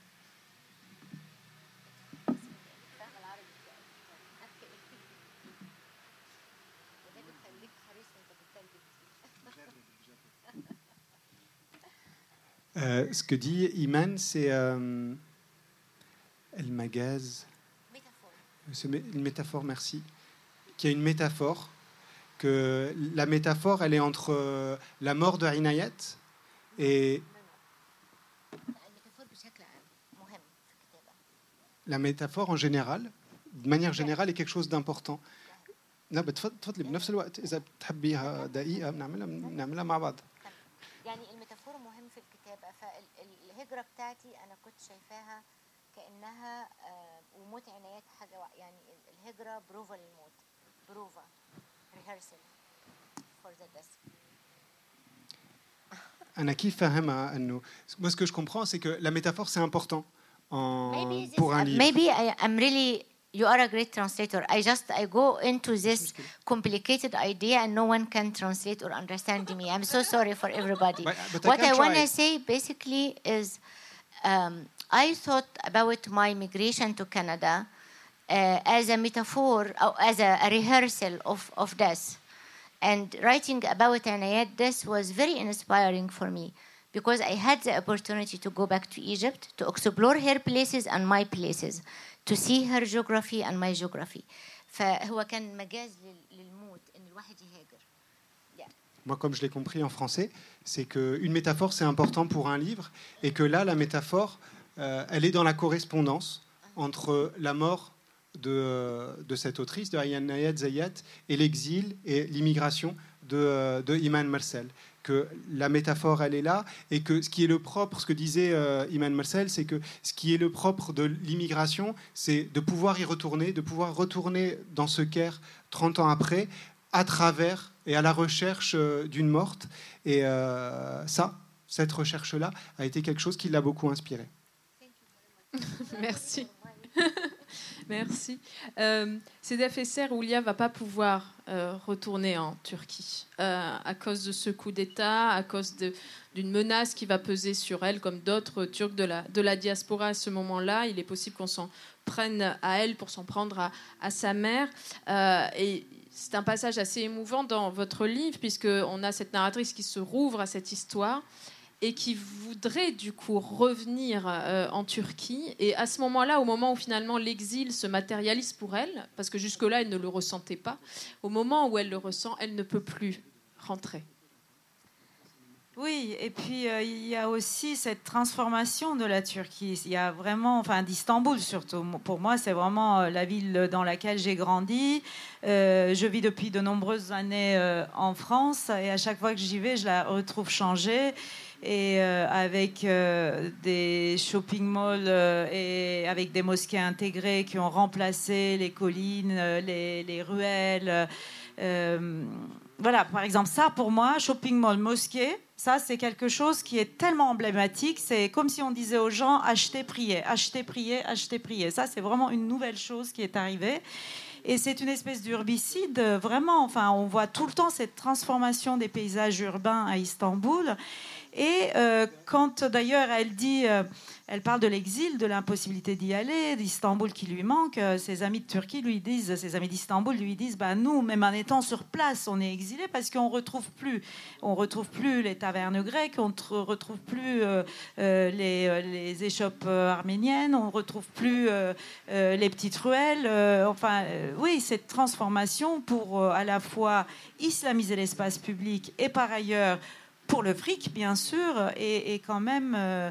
Euh, ce que dit Iman, c'est euh, El Magaz. C'est une métaphore, merci. Qu'il y a une métaphore, que la métaphore, elle est entre euh, la mort de Inayat et. La métaphore en général, de manière générale, est quelque chose d'important. لا بتفضلي بنفس الوقت إذا بتحبيها دقيقة بنعملها بنعملها مع بعض. يعني الميتافور مهم في الكتابة. فالهجرة بتاعتي أنا كنت شايفاها كأنها وموت عنايات حاجة، يعني الهجرة بروفا للموت، بروفا rehearsal for the death. أنا كيف فاهمها إنه moi ce que je comprends c'est que la métaphore c'est important en pour un livre. Maybe I, I'm really You are a great translator. I just I go into this complicated idea and no one can translate or understand me. I'm so sorry for everybody. But, but what I, I want to say basically is um, I thought about my migration to Canada uh, as a metaphor, or as a, a rehearsal of, of death. And writing about Anayat death was very inspiring for me because I had the opportunity to go back to Egypt to explore her places and my places. To see her geography and my geography. فهو كان مجاز للموت إن الواحد يهاجر. Yeah. Moi, comme je l'ai compris en français, c'est qu'une métaphore, c'est important pour un livre, et que là, la métaphore, euh, elle est dans la correspondance entre la mort de, de cette autrice, de Inayat Zayat, et l'exil et l'immigration de, de Iman Mersel. Que la métaphore, elle est là, et que ce qui est le propre, ce que disait euh, Iman Mersel, c'est que ce qui est le propre de l'immigration, c'est de pouvoir y retourner, de pouvoir retourner dans ce Caire trente ans après, à travers et à la recherche euh, d'une morte. Et euh, ça, cette recherche-là, a été quelque chose qui l'a beaucoup inspiré. Merci. Merci. Euh, Sedef Esser, Oulia ne va pas pouvoir euh, retourner en Turquie euh, à cause de ce coup d'État, à cause de, d'une menace qui va peser sur elle, comme d'autres Turcs de la, de la diaspora à ce moment-là. Il est possible qu'on s'en prenne à elle pour s'en prendre à, à sa mère. Euh, et c'est un passage assez émouvant dans votre livre, puisqu'on a cette narratrice qui se rouvre à cette histoire et qui voudrait du coup revenir euh, en Turquie. Et à ce moment-là, au moment où finalement l'exil se matérialise pour elle, parce que jusque-là, elle ne le ressentait pas, au moment où elle le ressent, elle ne peut plus rentrer. Oui, et puis euh, il y a aussi cette transformation de la Turquie. Il y a vraiment, enfin d'Istanbul surtout. Pour moi, c'est vraiment euh, la ville dans laquelle j'ai grandi. Euh, je vis depuis de nombreuses années euh, en France, et à chaque fois que j'y vais, je la retrouve changée. Et euh, avec euh, des shopping malls euh, et avec des mosquées intégrées qui ont remplacé les collines, euh, les, les ruelles. Euh, voilà, par exemple, ça pour moi, shopping mall, mosquée, ça c'est quelque chose qui est tellement emblématique. C'est comme si on disait aux gens achetez, priez, achetez, priez, achetez, priez. Ça c'est vraiment une nouvelle chose qui est arrivée. Et c'est une espèce d'urbicide, vraiment. Enfin, on voit tout le temps cette transformation des paysages urbains à Istanbul. Et euh, quand d'ailleurs elle dit, euh, elle parle de l'exil, de l'impossibilité d'y aller, d'Istanbul qui lui manque, euh, ses amis de Turquie lui disent, ses amis d'Istanbul lui disent, bah nous, même en étant sur place, on est exilés parce qu'on retrouve plus, on retrouve plus les tavernes grecques, on ne retrouve plus euh, euh, les, les échoppes arméniennes, on retrouve plus euh, euh, les petites ruelles. Euh, enfin, euh, oui, cette transformation pour euh, à la fois islamiser l'espace public et par ailleurs pour le fric, bien sûr, et, et quand même euh,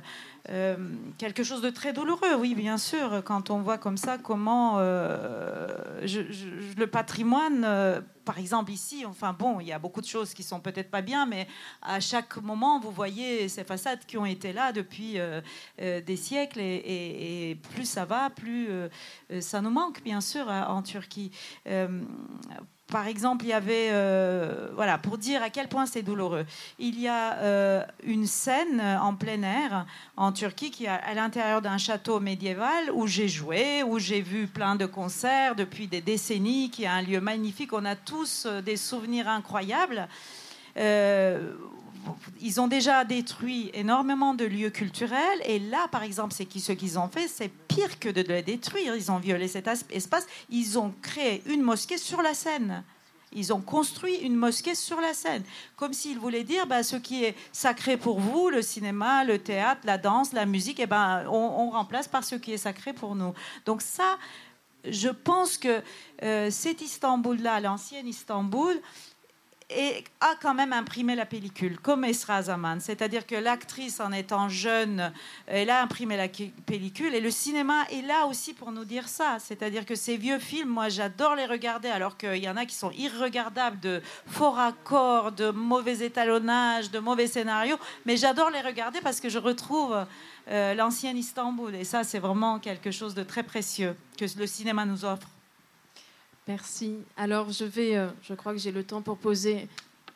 Euh, quelque chose de très douloureux, oui, bien sûr, quand on voit comme ça comment euh, je, je, le patrimoine, euh, par exemple ici, enfin bon, il y a beaucoup de choses qui sont peut-être pas bien, mais à chaque moment, vous voyez ces façades qui ont été là depuis euh, euh, des siècles, et, et, et plus ça va, plus euh, ça nous manque, bien sûr, en Turquie. Euh, Par exemple, il y avait, euh, voilà, pour dire à quel point c'est douloureux, il y a euh, une scène en plein air en Turquie qui est à l'intérieur d'un château médiéval où j'ai joué, où j'ai vu plein de concerts depuis des décennies, qui est un lieu magnifique. On a tous des souvenirs incroyables. Euh, Ils ont déjà détruit énormément de lieux culturels, et là, par exemple, c'est ce qu'ils ont fait, c'est pire que de le détruire. Ils ont violé cet espace. Ils ont créé une mosquée sur la Seine. Ils ont construit une mosquée sur la Seine, comme s'ils voulaient dire, bah, ce qui est sacré pour vous, le cinéma, le théâtre, la danse, la musique, eh ben, on, on remplace par ce qui est sacré pour nous. Donc ça, je pense que euh, cet Istanbul-là, l'ancienne Istanbul, et a quand même imprimé la pellicule, comme Esra Zaman. C'est-à-dire que l'actrice, en étant jeune, elle a imprimé la pellicule. Et le cinéma est là aussi pour nous dire ça. C'est-à-dire que ces vieux films, moi, j'adore les regarder, alors qu'il y en a qui sont irregardables, de faux raccords, de mauvais étalonnage, de mauvais scénarios. Mais j'adore les regarder parce que je retrouve euh, l'ancien Istanbul. Et ça, c'est vraiment quelque chose de très précieux que le cinéma nous offre. Merci. Alors, je vais... Euh, je crois que j'ai le temps pour poser...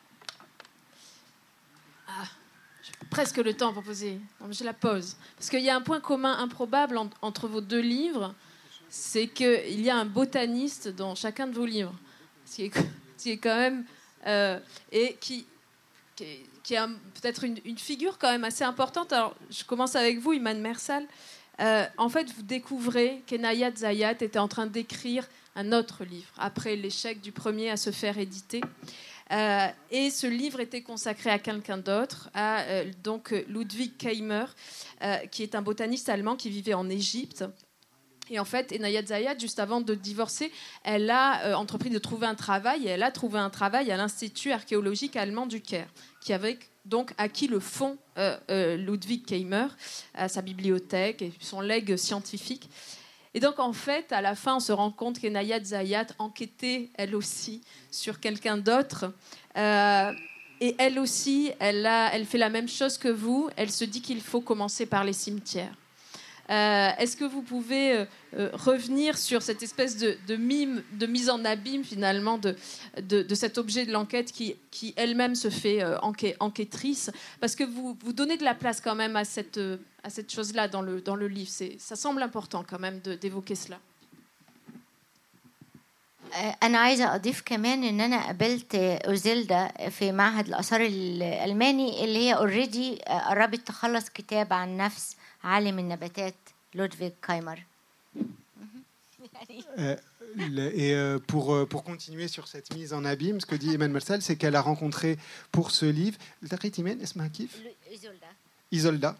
Ah, j'ai presque le temps pour poser... Non, mais je la pose. Parce qu'il y a un point commun improbable en, entre vos deux livres, c'est qu'il y a un botaniste dans chacun de vos livres. Ce qui est, ce qui est quand même... Euh, et qui, qui, est, qui est un, peut-être une, une figure quand même assez importante. Alors, je commence avec vous, Iman Mersal. Euh, en fait, vous découvrez qu'Enayat Zayat était en train d'écrire un autre livre, après l'échec du premier à se faire éditer. Euh, et ce livre était consacré à quelqu'un d'autre, à euh, donc Ludwig Keimer, euh, qui est un botaniste allemand qui vivait en Égypte. Et en fait, Enayat Zayat, juste avant de divorcer, elle a euh, entrepris de trouver un travail, et elle a trouvé un travail à l'Institut archéologique allemand du Caire, qui avait donc acquis le fonds euh, euh, Ludwig Keimer, à sa bibliothèque et son legs scientifique. Et donc, en fait, à la fin, on se rend compte qu'Enayat Zayat enquêtait, elle aussi, sur quelqu'un d'autre. Euh, et elle aussi, elle, a, elle fait la même chose que vous. Elle se dit qu'il faut commencer par les cimetières. Euh, est-ce que vous pouvez euh, euh, revenir sur cette espèce de, de mime, de mise en abîme, finalement, de, de, de cet objet de l'enquête qui, qui elle-même se fait euh, enquê- enquêtrice? Parce que vous, vous donnez de la place quand même à cette, euh, à cette chose-là dans le, dans le livre. C'est, ça semble important quand même de, d'évoquer cela. أنا عايزة أضيف كمان إن أنا قابلت أوزيلدا في معهد الآثار الألماني اللي هي أوريدي قربت تخلص كتاب عن نفس عالم النباتات لودفيغ كايمر. Et euh, pour, pour continuer sur cette mise en abîme, ce que dit Iman Mersal, c'est qu'elle a rencontré pour ce livre Isolda,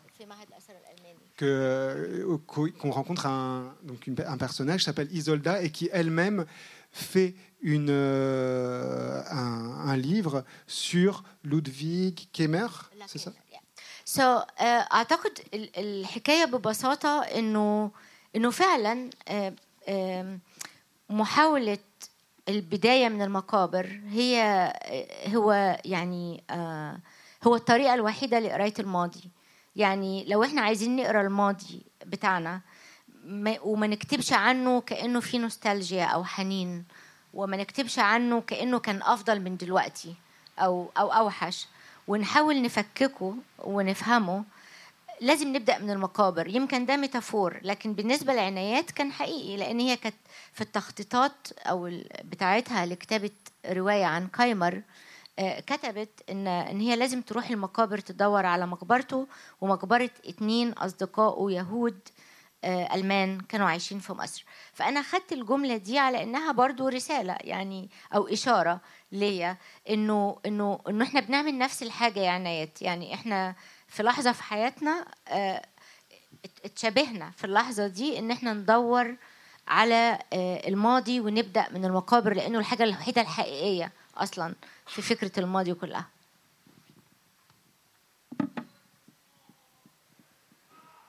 que, qu'on rencontre un, donc une, un personnage qui s'appelle Isolda et qui elle-même fait une, euh, un, un livre sur Ludwig Keimer, c'est ça? So, uh, أعتقد الحكاية ببساطة إنه إنه فعلا uh, uh, محاولة البداية من المقابر هي هو يعني uh, هو الطريقة الوحيدة لقراية الماضي. يعني لو إحنا عايزين نقرأ الماضي بتاعنا وما نكتبش عنه كأنه في نوستالجيا أو حنين، وما نكتبش عنه كأنه كان أفضل من دلوقتي أو أو أوحش، ونحاول نفككه ونفهمه، لازم نبدأ من المقابر. يمكن ده ميتافور، لكن بالنسبة لعنايات كان حقيقي، لأن هي كانت في التخطيطات أو بتاعتها لكتابة رواية عن كايمر كتبت إن إن هي لازم تروح المقابر تدور على مقبرته ومقبرة اتنين أصدقائه يهود ألمان كانوا عايشين في مصر. فأنا خدت الجملة دي على إنها برضو رسالة يعني أو إشارة ليا إنه إنه إنه إحنا بنعمل نفس الحاجة يا عنايات. يعني إحنا في لحظة في حياتنا اتشابهنا في اللحظة دي إن إحنا ندور على الماضي ونبدأ من المقابر، لأنه الحاجة الوحيدة الحقيقية أصلا في فكرة الماضي كلها.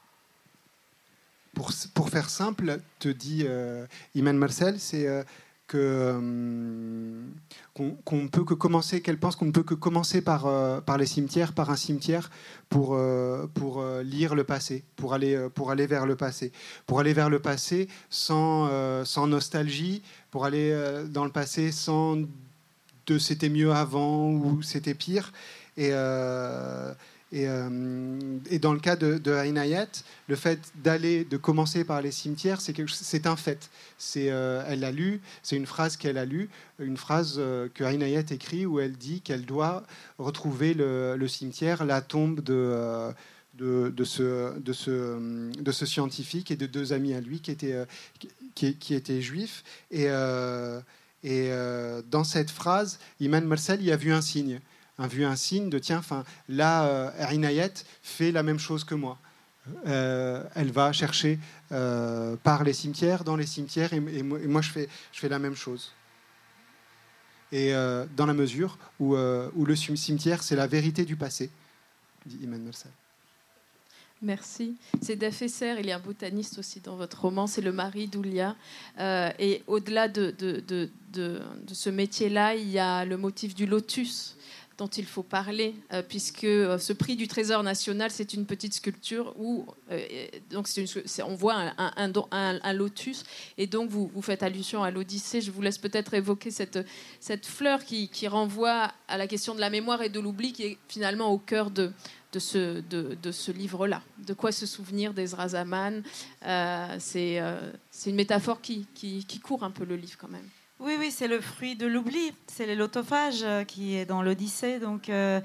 pour, pour faire simple, te dit euh, Iman Marcel, c'est euh, que, euh, qu'on, qu'on peut que commencer, qu'elle pense qu'on ne peut que commencer par, euh, par les cimetières, par un cimetière, pour, euh, pour euh, lire le passé, pour aller, euh, pour aller vers le passé. Pour aller vers le passé sans, euh, sans nostalgie, pour aller euh, dans le passé sans de c'était mieux avant ou c'était pire. Et... Euh, Et, euh, et dans le cas de, de Inayat, le fait d'aller, de commencer par les cimetières, c'est, quelque, c'est un fait. C'est, euh, elle l'a lu, c'est une phrase qu'elle a lue, une phrase euh, que Inayat écrit où elle dit qu'elle doit retrouver le, le cimetière, la tombe de, euh, de, de, ce, de, ce, de ce scientifique et de deux amis à lui qui étaient, euh, qui, qui étaient juifs. Et, euh, et euh, dans cette phrase, Iman Marcel y a vu un signe. a vu un signe de tiens, enfin là, euh, Inayat fait la même chose que moi. Euh, elle va chercher euh, par les cimetières, dans les cimetières, et, et, moi, et moi je fais, je fais la même chose. Et euh, dans la mesure où, euh, où le cimetière, c'est la vérité du passé, dit Iman Marcel. Merci. C'est Dafesser, il y a un botaniste aussi dans votre roman, c'est le mari d'Oulia. Euh, et au-delà de, de, de, de, de ce métier-là, il y a le motif du lotus dont il faut parler, euh, puisque euh, ce prix du Trésor national, c'est une petite sculpture où euh, donc c'est une, c'est, on voit un, un, un, un lotus, et donc vous, vous faites allusion à l'Odyssée. Je vous laisse peut-être évoquer cette, cette fleur qui, qui renvoie à la question de la mémoire et de l'oubli, qui est finalement au cœur de, de, ce, de, de ce livre-là. De quoi se souvenir d'Ezra Zaman. euh, c'est, euh, c'est une métaphore qui, qui, qui court un peu le livre quand même. Oui, oui, c'est le fruit de l'oubli. C'est l'autophage qui est dans l'Odyssée. Donc, euh,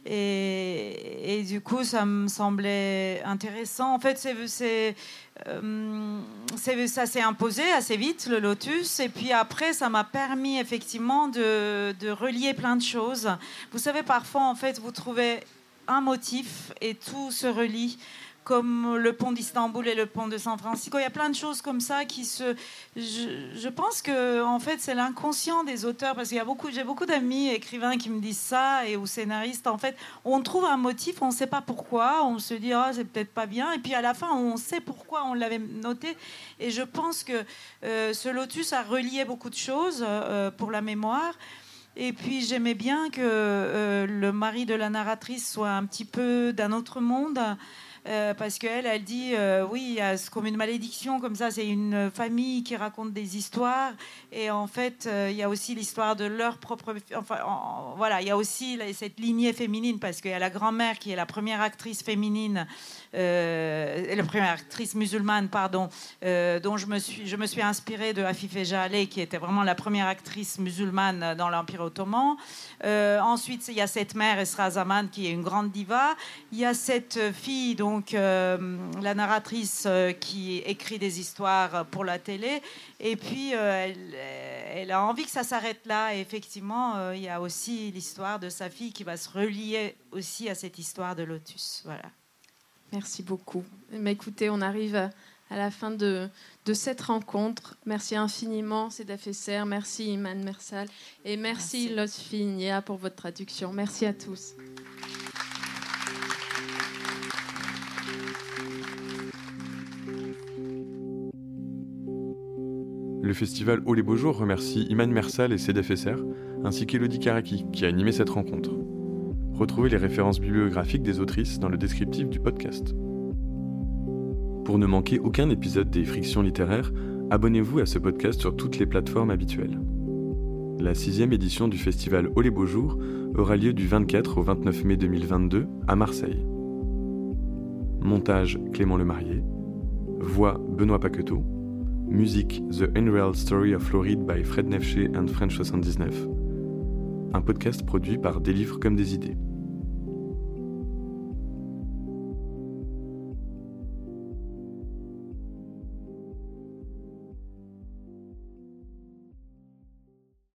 et, et du coup, ça me semblait intéressant. En fait, c'est, c'est, euh, c'est, ça s'est imposé assez vite, le lotus. Et puis après, ça m'a permis effectivement de, de relier plein de choses. Vous savez, parfois, en fait, vous trouvez un motif et tout se relie, comme le pont d'Istanbul et le pont de San Francisco. Il y a plein de choses comme ça qui se... Je, je pense que en fait, c'est l'inconscient des auteurs, parce qu'il y a beaucoup, j'ai beaucoup d'amis écrivains qui me disent ça, et ou scénaristes. En fait, on trouve un motif, on ne sait pas pourquoi, on se dit ah, c'est peut-être pas bien, et puis à la fin, on sait pourquoi on l'avait noté. Et je pense que euh, ce lotus a relié beaucoup de choses euh, pour la mémoire. Et puis j'aimais bien que euh, le mari de la narratrice soit un petit peu d'un autre monde. Euh, parce qu'elle, elle dit, euh, oui, il y a comme une malédiction, comme ça, c'est une famille qui raconte des histoires, et en fait, euh, il y a aussi l'histoire de leur propre... Enfin, en, voilà, il y a aussi cette lignée féminine, parce qu'il y a la grand-mère qui est la première actrice féminine, euh, la première actrice musulmane, pardon, euh, dont je me suis, je me suis inspirée de Afife Jaleh, qui était vraiment la première actrice musulmane dans l'Empire ottoman. Euh, ensuite, il y a cette mère, Ezra Zaman, qui est une grande diva. Il y a cette fille, donc, Donc, euh, la narratrice euh, qui écrit des histoires pour la télé. Et puis, euh, elle, elle a envie que ça s'arrête là. Et effectivement, euh, il y a aussi l'histoire de sa fille qui va se relier aussi à cette histoire de Lotus. Voilà. Merci beaucoup. Mais écoutez, on arrive à la fin de, de cette rencontre. Merci infiniment, Seda Fesser. Merci, Iman Marcel. Et merci, merci. Lotfi Nia, pour votre traduction. Merci à tous. Le festival Oh les Beaux Jours remercie Iman Marcel et Seda Fesser, ainsi qu'Elodie Karaki, qui a animé cette rencontre. Retrouvez les références bibliographiques des autrices dans le descriptif du podcast. Pour ne manquer aucun épisode des Frictions littéraires, abonnez-vous à ce podcast sur toutes les plateformes habituelles. La sixième édition du festival Oh les Beaux Jours aura lieu du vingt-quatre au vingt-neuf mai deux mille vingt-deux à Marseille. Montage Clément Lemarié. Voix Benoît Paqueteau. Musique The Unreal Story of Floride by Fred Nefché and French soixante-dix-neuf. Un podcast produit par Des livres comme des idées.